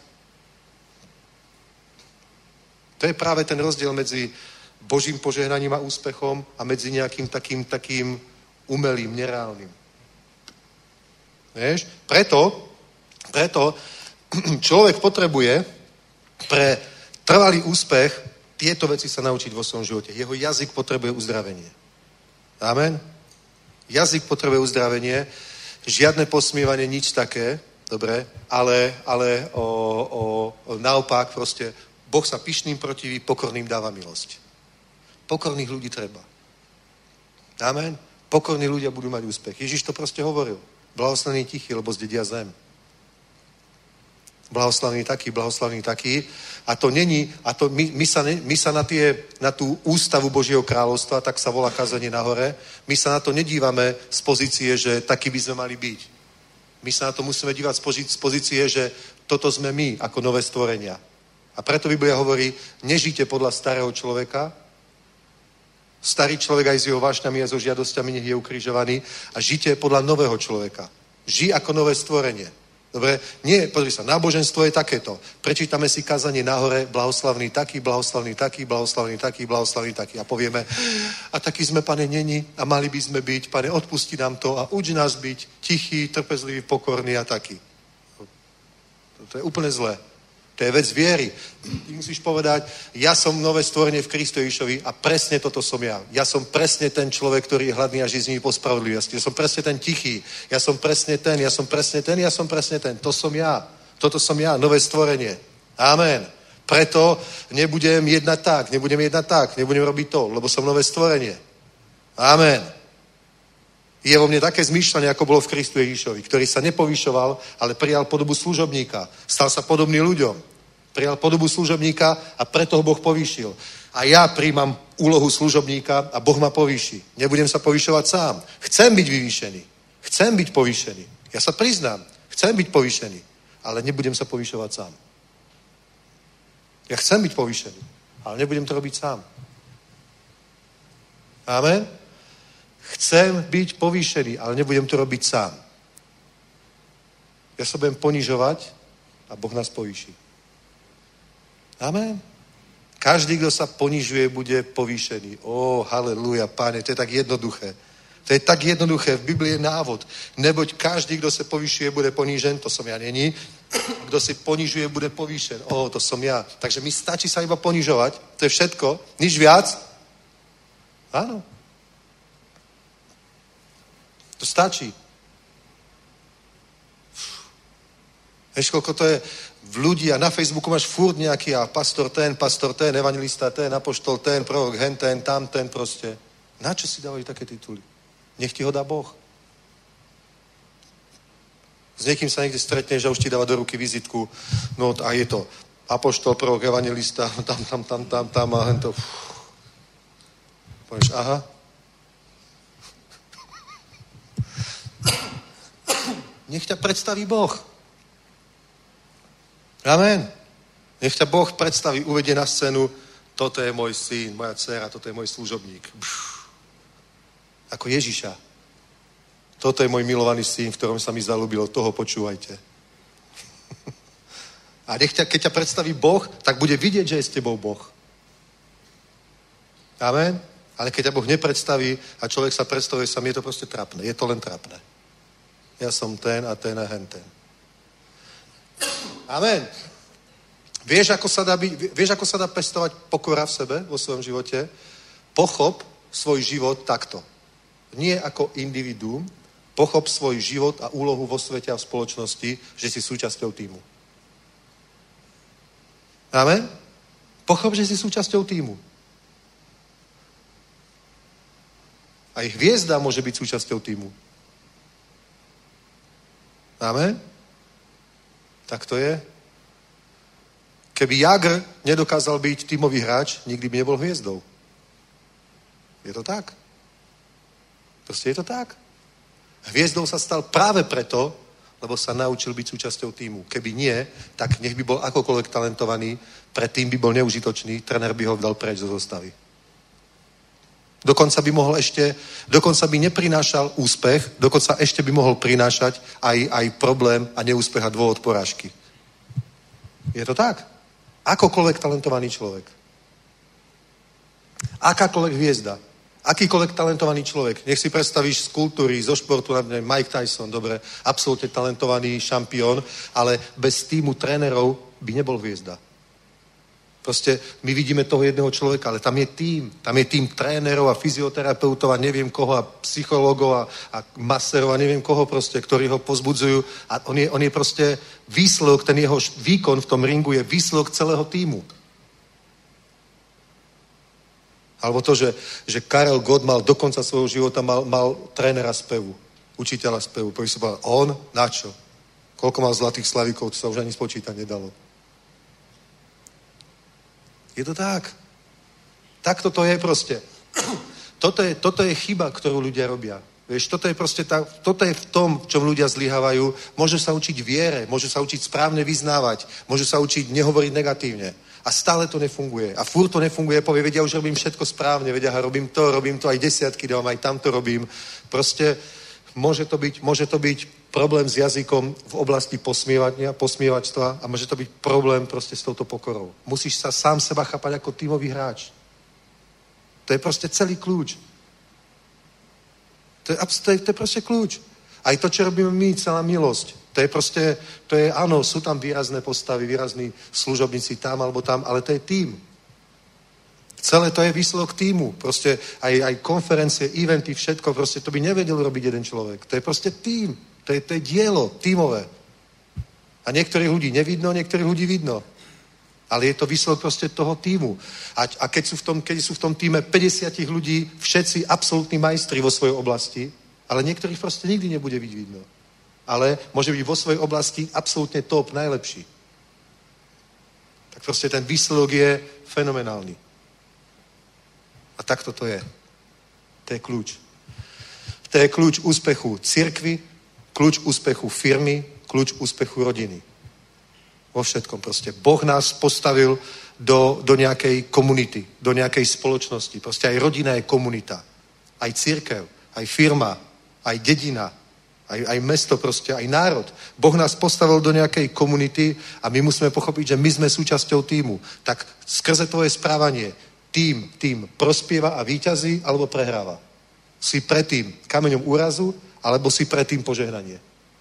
Speaker 3: To je práve ten rozdiel medzi Božím požehnaním a úspechom a medzi nejakým takým umelým, nereálnym. Vieš? Preto človek potrebuje pre trvalý úspech tieto veci sa naučiť vo svojom živote. Jeho jazyk potrebuje uzdravenie. Amen? Jazyk potrebuje uzdravenie, žiadne posmievanie, nič také, dobre, ale naopak proste Boh sa pyšným protiví, pokorným dáva milosť. Pokorných ľudí treba. Amen? Pokorní ľudia budú mať úspech. Ježiš to proste hovoril. Blahoslavný tichý, lebo zdedia zem. Blahoslavný taký. A to není, my sa na tú ústavu Božieho kráľovstva, tak sa volá kázanie nahore, my sa na to nedívame z pozície, že taký by sme mali byť. My sa na to musíme dívať z pozície, že toto sme my, ako nové stvorenia. A preto Biblia hovorí, nežite podľa starého človeka, starý človek aj s jeho vášňami a so žiadosťami nech je ukrižovaný a žite podľa nového človeka. Žij ako nové stvorenie. Dobre? Nie, pozri sa, náboženstvo je takéto. Prečítame si kázanie nahore, blahoslavný taký, blahoslavný taký, blahoslavný taký, blahoslavný taký. A povieme, a taký sme, Pane, neni a mali by sme byť, Pane, odpusti nám to a uč nás byť tichý, trpezlivý, pokorný a taký. To je úplne zlé. To je vec viery. Ty musíš povedať, ja som nové stvorenie v Kristu Ježišovi a presne toto som ja. Ja som presne ten človek, ktorý je hladný a žízní po spravodlivosti. Ja som presne ten tichý. Ja som presne ten. To som ja. Toto som ja, nové stvorenie. Amen. Preto nebudem jednať tak, nebudem robiť to, lebo som nové stvorenie. Amen. Je vo mne také zmýšľanie, ako bolo v Kristu Ježišovi, ktorý sa nepovyšoval, ale prijal podobu služobníka. Stal sa podobný ľuďom. Prijal podobu služobníka a preto ho Boh povýšil. A ja príjmam úlohu služobníka a Boh ma povýši. Nebudem sa povyšovať sám. Chcem byť vyvýšený. Chcem byť povýšený. Ja sa priznám. Chcem byť povýšený. Ale nebudem sa povyšovať sám. Ja chcem byť povýšený. Ale nebudem to robiť sám. Amen? Chcem byť povýšený, ale nebudem to robiť sám. Ja sa budem ponižovať a Boh nás povýši. Amen. Každý, kto sa ponižuje, bude povýšený. Halleluja, Páne, to je tak jednoduché. To je tak jednoduché. V Biblii je návod. Neboť každý, kdo se povyšuje, bude ponížen. To som ja není. Kdo si ponižuje, bude povýšen. To som ja. Takže mi stačí sa iba ponižovať. To je všetko. Nič viac. Áno. To stačí. Vieš, koľko to je v ľudí a na Facebooku máš furt nejaký a pastor ten, evangelista ten, apoštol ten, prorok hen ten, tam ten proste. Na čo si dávajú také tituly? Nech ti ho dá Boh. S niekým sa niekde stretneš a už ti dáva do ruky vizitku. No a je to apoštol, prorok, evangelista, tam a hento. Povieš, aha. Nech ťa predstaví Boh. Amen. Nech ťa Boh predstaví, uvedie na scénu, toto je môj syn, moja dcera, toto je môj služobník. Ako Ježiša. Toto je môj milovaný syn, v ktorom sa mi zalúbilo, toho počúvajte. A keď ťa predstaví Boh, tak bude vidieť, že je s tebou Boh. Amen. Ale keď ťa Boh nepredstaví a človek sa predstavuje sám, je to proste trapné. Je to len trapné. Ja som ten a ten a henten. Amen. Vieš, ako sa dá pestovať pokora v sebe, vo svojom živote? Pochop svoj život takto. Nie ako individuum, pochop svoj život a úlohu vo svete a v spoločnosti, že si súčasťou týmu. Amen? Pochop, že si súčasťou týmu. Aj hviezda môže byť súčasťou týmu. Amen? Tak to je. Keby Jagr nedokázal byť tímový hráč, nikdy by nebol hviezdou. Je to tak. Proste je to tak. Hviezdou sa stal práve preto, lebo sa naučil byť súčasťou týmu. Keby nie, tak nech by bol akokoľvek talentovaný, predtým by bol neužitočný, trenér by ho dal preč zo zostavy. Dokonca by neprinášal úspech, dokonca ešte by mohol prinášať aj problém a neúspech a dôvod porážky. Je to tak? Akokoľvek talentovaný človek. Akákoľvek hviezda. Akýkoľvek talentovaný človek. Nech si predstavíš z kultúry, zo športu, Mike Tyson, dobre, absolútne talentovaný šampión, ale bez týmu trénerov by nebol hviezda. Proste my vidíme toho jedného človeka, ale tam je tým trénerov a fyzioterapeutov a neviem koho a psychológov a maserov a neviem koho proste, ktorí ho pozbudzujú a on je proste výsledok, ten jeho výkon v tom ringu je výsledok celého týmu. Alebo to, že Karel Gott mal do konca svojho života mal trénera spevu, učiteľa spevu. Poviem si povedal, on? Na čo? Koľko mal zlatých slavíkov, to sa už ani spočítať nedalo. Je to tak. Takto to je proste. Toto je chyba, ktorú ľudia robia. Vieš, toto je v tom, v čom ľudia zlyhávajú. Môžu sa učiť viere, môžu sa učiť správne vyznávať, môžu sa učiť nehovoriť negatívne. A stále to nefunguje. A furt to nefunguje, povie, vedia, už robím všetko správne, vedia, robím to aj desiatky dávam, aj tamto robím. Proste môže to byť problém s jazykom v oblasti posmievačstva a môže to byť problém proste s touto pokorou. Musíš sa sám seba chápať ako tímový hráč. To je proste celý kľúč. To je proste kľúč. Aj to, čo robíme my, celá milosť. Áno, sú tam výrazné postavy, výrazní služobníci tam alebo tam, ale to je tím. Celé to je výsledok týmu. Proste aj konferencie, eventy, všetko, proste to by nevedel robiť jeden človek. To je proste tím. To je dielo tímové. A niektorých ľudí nevidno, niektorých ľudí vidno. Ale je to výsledok proste toho tímu. A keď sú v tom tíme 50 ľudí, všetci absolútni majstri vo svojej oblasti, ale niektorých proste nikdy nebude byť vidno. Ale môže byť vo svojej oblasti absolútne top, najlepší. Tak proste ten výsledok je fenomenálny. A takto to je. To je kľúč. To je kľúč úspechu cirkvi, kľúč úspechu firmy, kľúč úspechu rodiny. Vo všetkom proste. Boh nás postavil do nejakej komunity, do nejakej spoločnosti. Proste aj rodina je komunita. Aj cirkev, aj firma, aj dedina, aj mesto proste, aj národ. Boh nás postavil do nejakej komunity a my musíme pochopiť, že my sme súčasťou týmu. Tak skrze tvoje správanie tým prospieva a víťazí alebo prehráva. Si predtým kameňom úrazu, alebo si predtým požehnanie.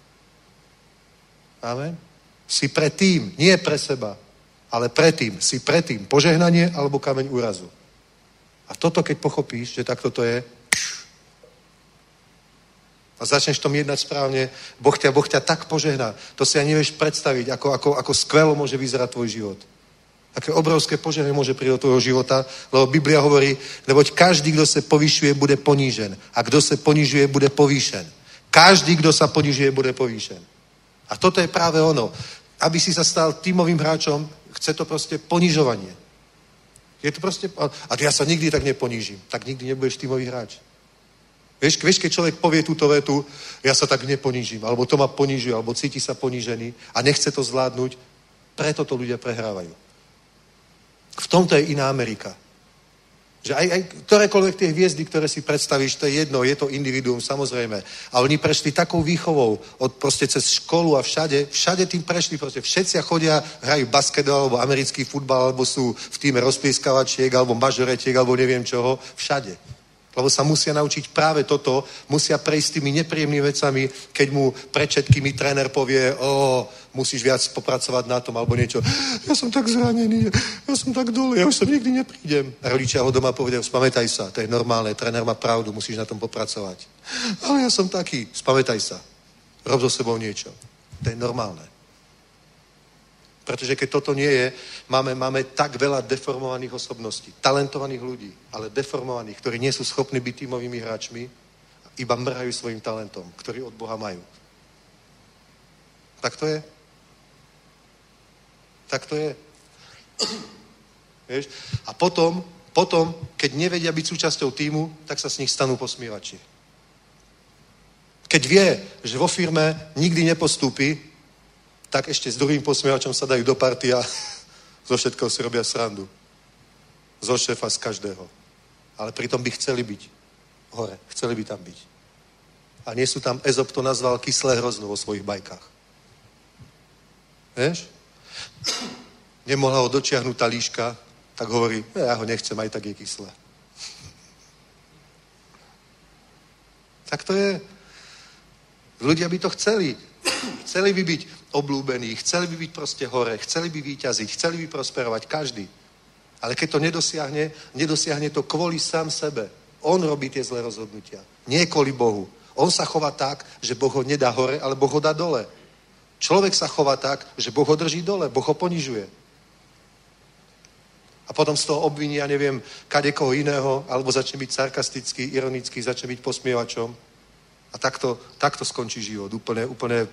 Speaker 3: Amen? Si predtým, nie pre seba, ale predtým. Si predtým požehnanie, alebo kameň úrazu. A toto, keď pochopíš, že takto to je, a začneš tom jednať správne, Boh ťa tak požehná. To si ani nevieš predstaviť, ako skvelo môže vyzerať tvoj život. Aké obrovské požehnanie môže prísť do tvojho života, lebo Biblia hovorí, neboť každý, kdo se povyšuje, bude ponížen. A kdo se ponižuje, bude povýšen. Každý, kdo sa ponižuje, bude povýšen. A toto je práve ono. Aby si sa stal tímovým hráčom, chce to proste ponižovanie. Je to proste, a ja sa nikdy tak neponížim. Tak nikdy nebudeš tímový hráč. Vieš, keď človek povie túto vetu, ja sa tak neponížim, alebo to ma ponížuje, alebo cíti sa ponížený a nechce to zvládnuť, preto to ľudia prehrávajú. V tomto je iná Amerika. Že aj ktorékoľvek tie hviezdy, ktoré si predstavíš, to je jedno, je to individuum, samozrejme. A oni prešli takou výchovou, proste cez školu a všade tým prešli, proste všetci chodia, hrajú basketbal, alebo americký futbal, alebo sú v týme rozplieskavačiek, alebo mažoretiek, alebo neviem čoho, všade. Lebo sa musia naučiť práve toto, musia prejsť tými nepríjemnými vecami, keď mu pred všetkými tréner povie, musíš viac popracovať na tom, alebo niečo. Ja som tak zranený, ja som tak dole, ja už som nikdy neprídem. A rodičia ho doma povedia, spamätaj sa, to je normálne, tréner má pravdu, musíš na tom popracovať. Ale ja som taký, spamätaj sa, rob so sebou niečo. To je normálne. Pretože keď toto nie je, máme tak veľa deformovaných osobností, talentovaných ľudí, ale deformovaných, ktorí nie sú schopní byť tímovými hráčmi, iba mrhajú svojim talentom, ktorý od Boha majú. Tak to je. Tak to je. Vieš? A potom, keď nevedia byť súčasťou tímu, tak sa s nich stanú posmievači. Keď vie, že vo firme nikdy nepostúpi, tak ešte s druhým posmievačom sa dajú do party a zo všetkého si robia srandu. Zo šéfa, z každého. Ale pritom by chceli byť hore. Chceli by tam byť. A nie sú tam, Ezop to nazval kyslé hrozno vo svojich bajkách. Vieš? Nemohla ho dočiahnuť tá líška, tak hovorí, ja ho nechcem, aj tak je kyslé. Tak to je. Ľudia by to chceli. Chceli by byť obľúbení, chceli by byť proste hore, chceli by víťaziť, chceli by prosperovať, každý. Ale keď to nedosiahne to kvôli sám sebe. On robí tie zlé rozhodnutia. Nie kvôli Bohu. On sa chová tak, že Boh ho nedá hore, ale Boh ho dá dole. Človek sa chová tak, že Boh ho drží dole, Boh ho ponižuje. A potom z toho obviní, ja neviem, kadekoho iného, alebo začne byť sarkastický, ironický, začne byť posmievačom. A takto skončí život. Úplne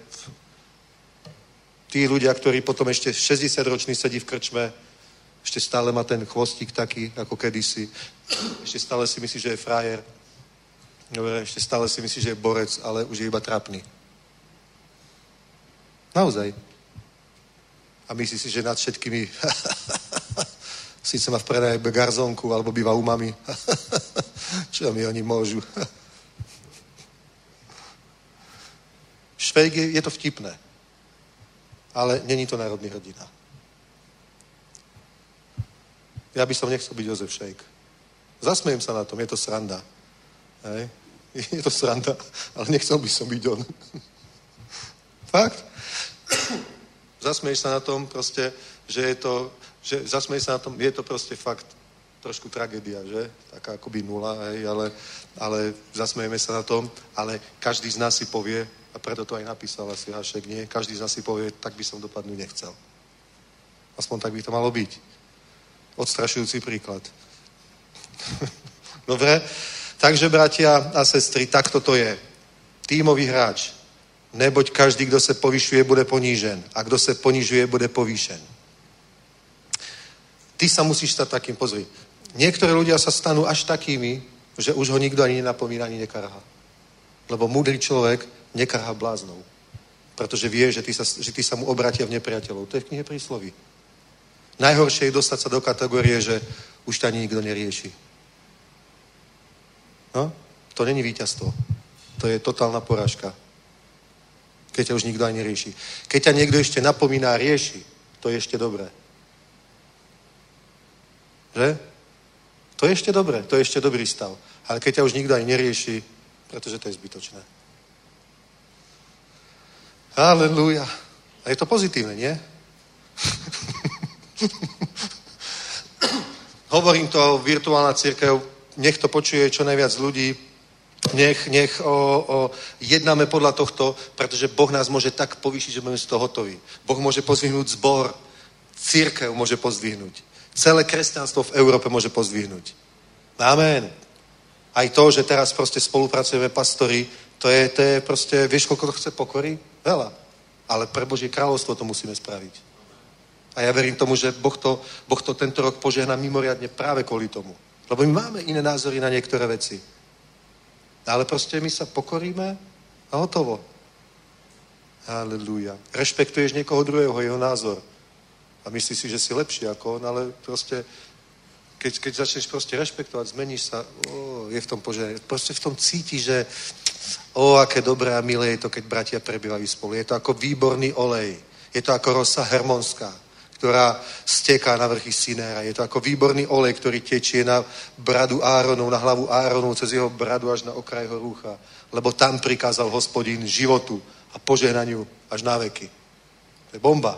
Speaker 3: tí ľudia, ktorí potom ešte 60-ročný sedí v krčme, ešte stále má ten chvostík taký, ako kedysi. Ešte stále si myslí, že je frajer. Dobre, ešte stále si myslí, že je borec, ale už je iba trápny. Naozaj. A myslí si, že nad všetkými síce má v prenajabe garzónku, alebo býva u mami. Čo mi oni môžu? Švejk je to vtipné. Ale není to národný hrdina. Ja by som nechcel byť Jozef Šejk. Zasmejem sa na tom, je to sranda. Hej? Je to sranda, ale nechcel by som byť on. Fakt? Zasmeješ sa na tom proste, zasmeješ sa na tom, je to proste fakt trošku tragédia, že? Taká akoby nula, hej, ale zasmejeme sa na tom, ale každý z nás si povie, a preto to aj napísal asi Hašek, nie? Každý z nás si povie, tak by som dopadnúť nechcel. Aspoň tak by to malo byť. Odstrašujúci príklad. Dobre? Takže, bratia a sestry, takto to je. Tímový hráč. Neboť každý, kdo se povyšuje, bude ponížen. A kdo se ponižuje, bude povýšen. Ty sa musíš stať takým, pozri. Niektorí ľudia sa stanú až takými, že už ho nikto ani nenapomína, ani nekarhá. Lebo múdry človek nekarhá bláznou. Pretože vie, že ty sa mu obratia v nepriateľov. To je v knihe Prísloví. Najhoršie je dostať sa do kategórie, že už ťa ani nikto nerieši. No? To není víťazstvo. To je totálna porážka. Keď ťa už nikto ani nerieši. Keď ťa niekto ešte napomíná a rieši, to je ešte dobré. Že? To je ešte dobré, to je ešte dobrý stav. Ale keď ťa už nikto ani nerieši, pretože to je zbytočné. Halelúja. A je to pozitívne, nie? Hovorím to, virtuálna cirkev, nech to počuje čo najviac ľudí, nech jednáme podľa tohto, pretože Boh nás môže tak povýšiť, že budeme z toho hotoví. Boh môže pozdvihnúť zbor, cirkev môže pozdvihnúť. Celé kresťanstvo v Európe môže pozdvihnúť. Amen. Aj to, že teraz proste spolupracujeme pastori, to je proste, vieš, koľko to chce pokory? Veľa. Ale pre Božie kráľovstvo to musíme spraviť. A ja verím tomu, že Boh to tento rok požehná mimoriadne práve kvôli tomu. Lebo my máme iné názory na niektoré veci. Ale proste my sa pokoríme a hotovo. Halelúja. Rešpektuješ niekoho druhého, jeho názor. A myslíš si, že si lepší ako on, ale proste keď začneš proste rešpektovať, zmeníš sa, je v tom požehnanie. Proste v tom cíti, že aké dobré a milé je to, keď bratia prebývajú spolu. Je to ako výborný olej. Je to ako rosa hermonská, ktorá steká na vrchy Sinéra. Je to ako výborný olej, ktorý tečie na bradu Áronov, na hlavu Áronov, cez jeho bradu až na okraj jeho rúcha. Lebo tam prikázal Hospodin životu a požehnaniu až na veky. To je bomba.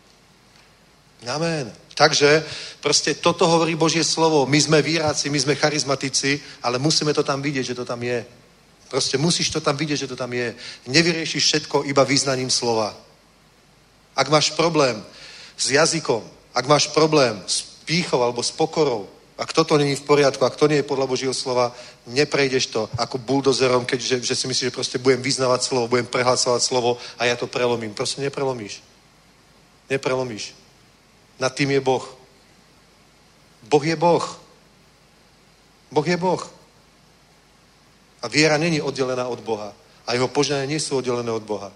Speaker 3: Amen. Takže proste toto hovorí Božie slovo. My sme víráci, my sme charizmatici, ale musíme to tam vidieť, že to tam je. Proste musíš to tam vidieť, že to tam je. Nevyriešiš všetko iba význaním slova. Ak máš problém s jazykom, ak máš problém s pýchou alebo s pokorou, ak toto není v poriadku, ak to nie je podľa Božieho slova, neprejdeš to ako buldozerom, že si myslíš, že proste budem vyznávať slovo, budem prehlasovať slovo a ja to prelomím. Proste neprelomíš. Neprelomíš. Nad tým je Boh. Boh je Boh. Boh je Boh. A viera není oddelená od Boha. A jeho požehnania nie sú oddelené od Boha.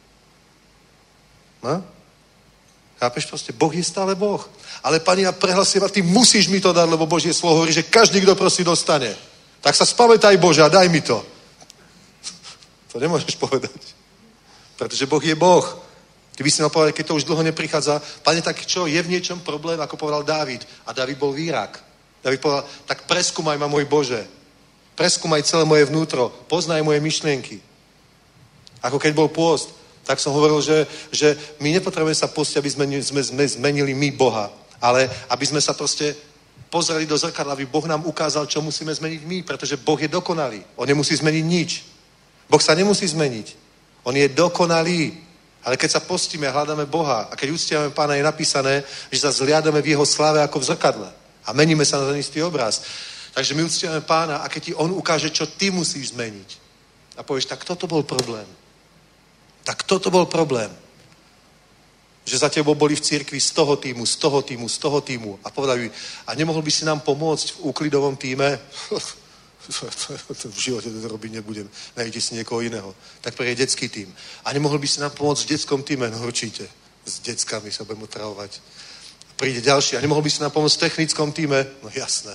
Speaker 3: No? Chápeš proste? Boh je stále Boh. Ale Pane, ja prehlasím a ty musíš mi to dať, lebo Božie slovo hovorí, že každý, kto prosí, dostane. Tak sa spamätaj, Bože, a daj mi to. To nemôžeš povedať. Pretože Boh je Boh. Ty by si mal povedať, keď to už dlho neprichádza, Pane, tak čo, je v niečom problém, ako povedal Dávid. A Dávid bol výrak. Dávid povedal, tak preskúmaj ma, môj Bože. Preskúmaj celé moje vnútro. Poznaj moje myšlienky. Ako keď bol pôst, tak som hovoril, že my nepotrebujeme sa postiť, aby sme zmenili my Boha. Ale aby sme sa proste pozreli do zrkadla, aby Boh nám ukázal, čo musíme zmeniť my, pretože Boh je dokonalý. On nemusí zmeniť nič. Boh sa nemusí zmeniť. On je dokonalý. Ale keď sa postíme a hľadáme Boha a keď uctievame Pána, je napísané, že sa zliadame v jeho sláve ako v zrkadle. A meníme sa na ten istý obraz. Takže my uctievame Pána a keď ti on ukáže, čo ty musíš zmeniť. A povieš, tak toto bol problém. Tak toto bol problém. Že za tebou boli v cirkvi z toho týmu. A povedali, a nemohol by si nám pomôcť v úklidovom týme? V živote to robiť nebudem. Najďte si niekoho iného. Tak príde detský tým. A nemohol by si nám pomôcť v detskom týme? No určite. S deckami sa budem otravovať. Príde ďalší. A nemohol by si nám pomôcť v technickom týme? No jasné.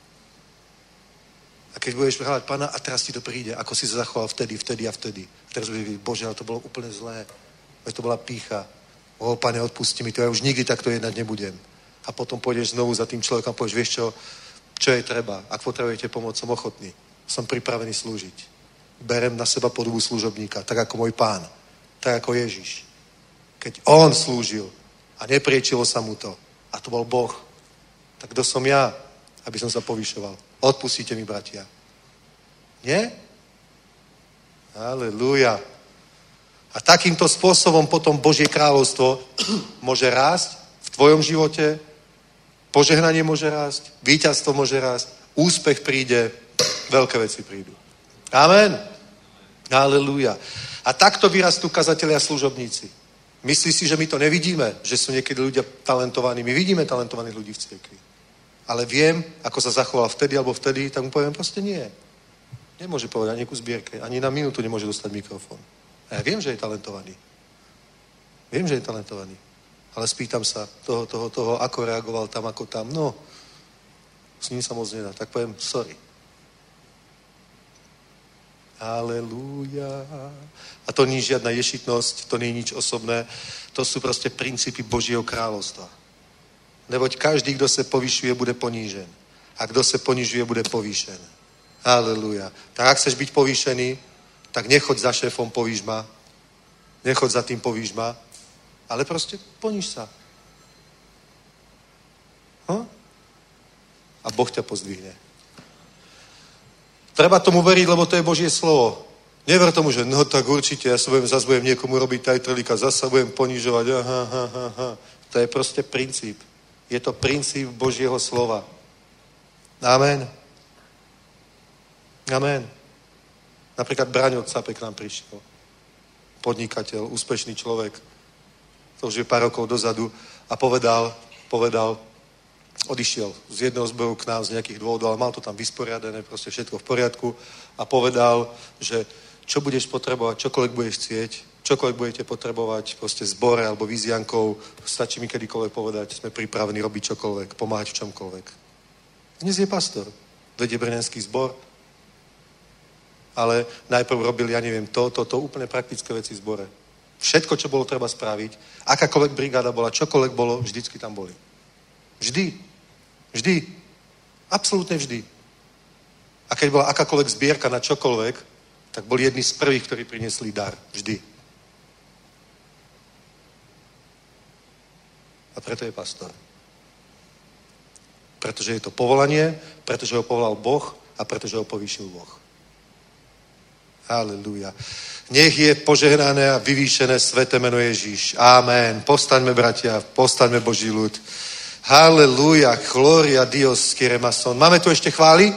Speaker 3: A keď budeš hľadať Pána, a teraz ti to príde, ako si sa zachoval vtedy. A teraz budeš vidieť, Bože, ale to bolo úplne zlé. To bola pýcha. Pane, odpusti mi to, ja už nikdy takto jednať nebudem. A potom pôjdeš znovu za tým človekom a povieš, vieš čo je treba? Ak potrebujete pomoc, som ochotný. Som pripravený slúžiť. Berem na seba podobu služobníka, tak ako môj Pán. Tak ako Ježiš. Keď on slúžil a nepriečilo sa mu to, a to bol Boh, tak kto som ja, aby som sa povyšoval? Odpustíte mi, bratia. Nie? Halelúja. A takýmto spôsobom potom Božie kráľovstvo môže rásť v tvojom živote, požehnanie môže rásť, víťazstvo môže rásť, úspech príde, veľké veci prídu. Amen. Halelúja. A takto vyrastú kazatelia a služobníci. Myslíš si, že my to nevidíme? Že sú niekedy ľudia talentovaní? My vidíme talentovaných ľudí v cirkvi. Ale viem, ako sa zachoval vtedy alebo vtedy, tak mu poviem, proste nie. Nemôže povedať ani ku zbierke, ani na minútu nemôže dostať mikrofón. A ja viem, že je talentovaný. Viem, že je talentovaný. Ale spýtam sa toho, ako reagoval tam, ako tam. No, s ním sa moc nedá. Tak poviem, sorry. Halelúja. A to nie je žiadna ješitnosť, to nie je nič osobné. To sú proste princípy Božieho kráľovstva. Neboť každý, kdo se povyšuje, bude ponížen. A kdo se ponižuje, bude povýšen. Haleluja. Tak ak chceš byť povýšený, tak nechoď za šéfom, povíš ma. Nechoď za tým, povíš ma. Ale proste poníž sa. A Boh ťa pozdvihne. Treba tomu veriť, lebo to je Božie slovo. Never tomu, že no tak určite, ja sa budem niekomu robiť tajtrlíka, zasa budem ponížovať. To je proste princíp. Je to princíp Božieho slova. Amen. Amen. Napríklad Braňo Capek k nám prišiel. Podnikateľ, úspešný človek. To už je pár rokov dozadu. A povedal, odišiel z jedného zboru k nám z nejakých dôvodov, ale mal to tam vysporiadané, proste všetko v poriadku. A povedal, že čo budeš potrebovať, čokoľvek budeš chcieť, čokoľvek budete potrebovať, proste zbore alebo výziankou, stačí mi kedykoľvek povedať, sme pripravení robiť čokoľvek, pomáhať v čomkoľvek. Dnes je pastor, vedie brňanský zbor, ale najprv robil, ja neviem, to úplne praktické veci v zbore. Všetko, čo bolo treba spraviť, akákoľvek brigáda bola, čokoľvek bolo, vždycky tam boli. Vždy. Absolútne vždy. A keď bola akákoľvek zbierka na čokoľvek, tak boli jedni z prvých, ktorí priniesli dar. Vždy. A preto je pastor. Pretože je to povolanie, pretože ho povolal Boh a pretože ho povýšil Boh. Halelúja. Nech je požehnané a vyvýšené sväté meno Ježíš. Amen. Povstaňme, bratia, povstaňme, Boží ľud. Halelúja. Gloria Dios, Kiremason. Máme tu ešte chvály?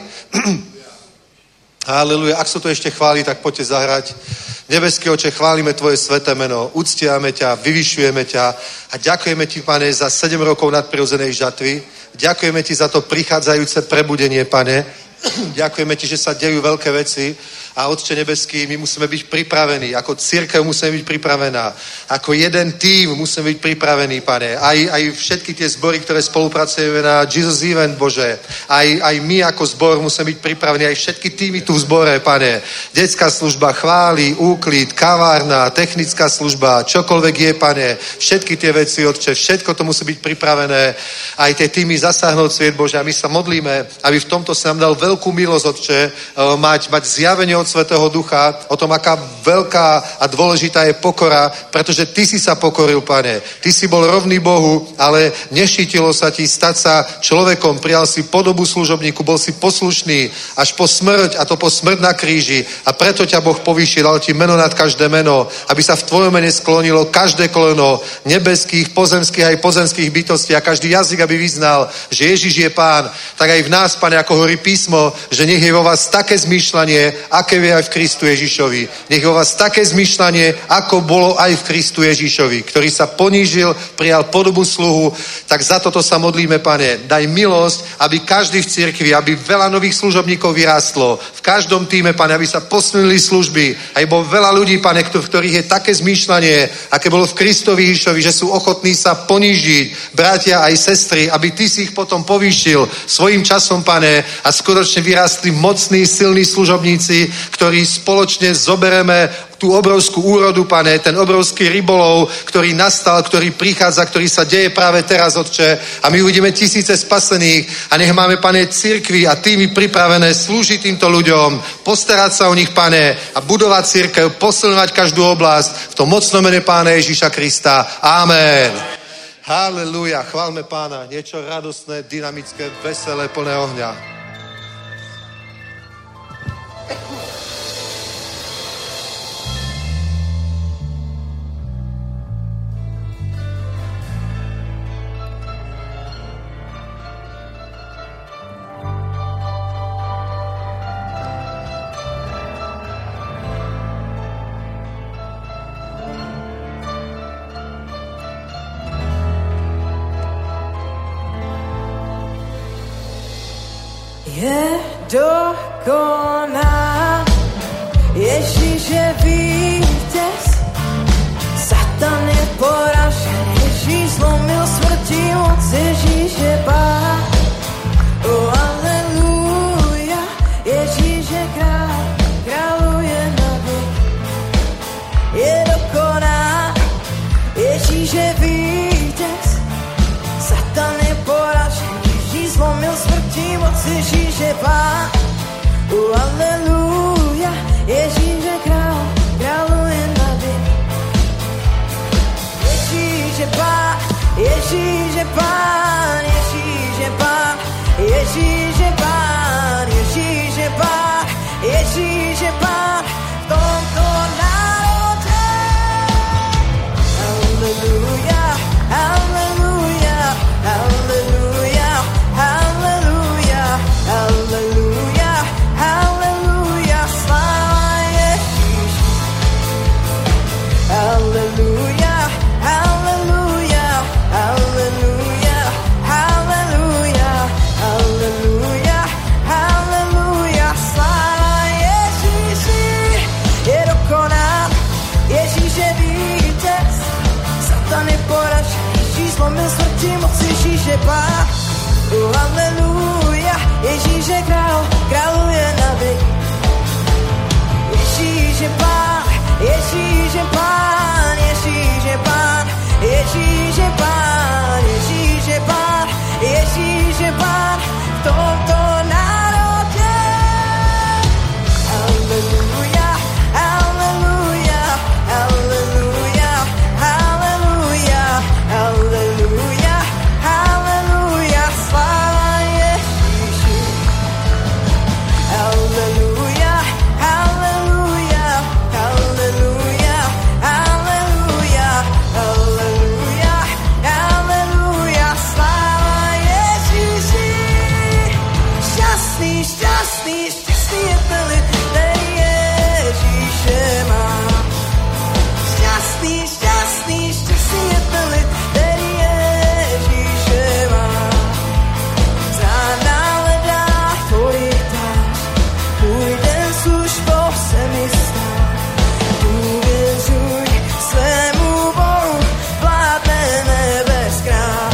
Speaker 3: Halelúja. Ak sú tu ešte chvály, tak poďte zahrať. Nebeský Oče, chválime Tvoje sväté meno, uctiame ťa, vyvyšujeme ťa a ďakujeme Ti, Pane, za 7 rokov nadprirodzenej žatvy. Ďakujeme Ti za to prichádzajúce prebudenie, Pane. Ďakujeme Ti, že sa dejú veľké veci a Otče nebeský, my musíme byť pripravení. Ako cirkev musíme byť pripravená. Ako jeden tím musíme byť pripravení, Pane. Aj všetky tie zbory, ktoré spolupracujeme na Jesus Event, Bože. Aj my ako zbor musíme byť pripravení. Aj všetky týmy tu v zbore, Pane. Detská služba, chvály, úklid, kavárna, technická služba, čokoľvek je, Pane. Všetky tie veci, Otče, všetko to musí byť pripravené. Aj tie týmy zasáhnout sviet, Bože. A my sa modlíme, aby v tomto sa nám dal veľkú milosť, Otče, mať zjavenie od Svätého Ducha o tom, aká veľká a dôležitá je pokora, pretože Ty si sa pokoril, Pane. Ty si bol rovný Bohu, ale nešítilo sa Ti stať sa človekom. Prijal si podobu služobníku, bol si poslušný až po smrť, a to po smrť na kríži. A preto ťa Boh povýšil, dal Ti meno nad každé meno, aby sa v Tvojom mene sklonilo každé koleno nebeských, pozemských aj pozemských bytostí a každý jazyk, aby vyznal, že Ježiš je Pán. Tak aj v nás, Pane, ako hovorí písmo, že nech je vo vás také zmýšľanie, aké je aj v Kristu Ježišovi. Nech je vo vás také zmýšľanie, ako bolo aj v Kristu Ježišovi, ktorý sa ponížil, prijal podobu sluhu. Tak za toto sa modlíme, Pane. Daj milosť, aby každý v cirkvi, aby veľa nových služobníkov vyrástlo. V každom týme, Pane, aby sa posunili služby. Aj bolo veľa ľudí, Pane, v ktorých je také zmýšľanie, aké bolo v Kristovi Ježišovi, že sú ochotní sa ponížiť, bratia aj sestry, aby Ty si ich potom povýšil svojím časom, Pane, a skutočne vyrástli mocní, silní služobníci, ktorí spoločne zobereme tú obrovskú úrodu, Pane, ten obrovský rybolov, ktorý nastal, ktorý prichádza, ktorý sa deje práve teraz, Otče. A my uvidíme tisíce spasených a nech máme, Pane, cirkvi a týmy pripravené slúžiť týmto ľuďom, postarať sa o nich, Pane, a budovať cirkev, posilňovať každú oblasť v tom mocnom mene Pána Ježíša Krista. Amen. Halelúja, chválme Pána. Niečo radostné, dynamické, veselé, plné ohňa.
Speaker 2: Je dokoná, Ježíš je vítěz, Satan je poražen, Ježíš zlomil smrti moc, Ježíš je Pán. Oh, aleluja, Ježíš je král, králuje na věk. Je dokoná, Ježíš je vítěz, Satan je poražen, Ježíš zlomil smrti moc, Ježíš je Pán.
Speaker 1: Aleluja, Ježíš je král, králuje nady. Ježíš je pán, Ježíš je pán, Ježíš je pán, Ježíš je pán, Ježíš je pán, Ježíš je pán v tomto národě. Aleluja, aleluja, aleluja, aleluja, aleluja, aleluja, sláva Ježíši. Aleluja, aleluja, aleluja, aleluja, aleluja, aleluja, sláva Ježíši. Je dokonal, Ježíš je vítěz, Satan je poražen, Ježíš zlomil smrti moc, Ježíš je pán. Aleluja, Ježíš je král, králuje nady. Ježíš je pán, Ježíš je pán, Ježíš je pán, Ježíš je pán, Ježíš je pán, Ježíš je pán v tomto národě. Aleluja, aleluja, aleluja, aleluja, aleluja, aleluja, sláva Ježíši. Aleluja, aleluja, aleluja, aleluja, aleluja, aleluja, sláva Ježíši. Šťastný, šťastný, šťastný je ten lid, který Ježíše má. Šťastný, šťastný, šťastný je ten lid, který Ježíše má. Zána hledá tvoji tvář, můj den službou se mi stal. Důvěřuj svému Bohu, vládne nebes král.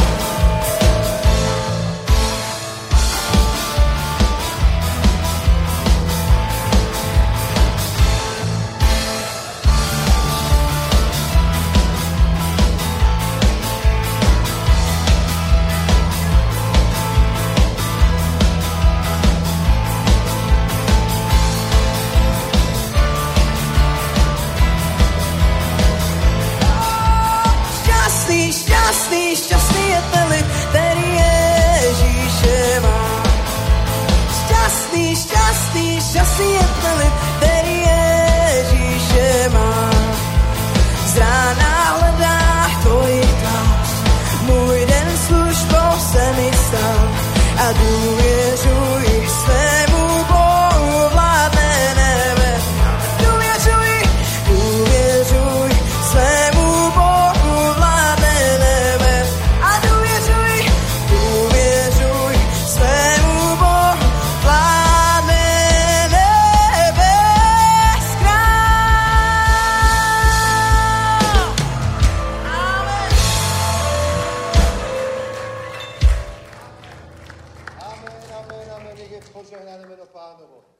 Speaker 1: Šťastný, šťastný, šťastný je ten lid, který Ježíše má. Šťastný, šťastný, šťastný je ten lid, který Ježíše má. Z rána hledá tvoji tvář, můj den službou se mi stal. A důvěřuj svému Bohu, vládne nebe. Důvěřuj, důvěřuj svému Bohu, vládne nebe. A důvěřuj, důvěřuj svému Bohu, vládne nebes král. Amen.
Speaker 3: Amen, amen, amen, nech je požehnané jméno Pánovo.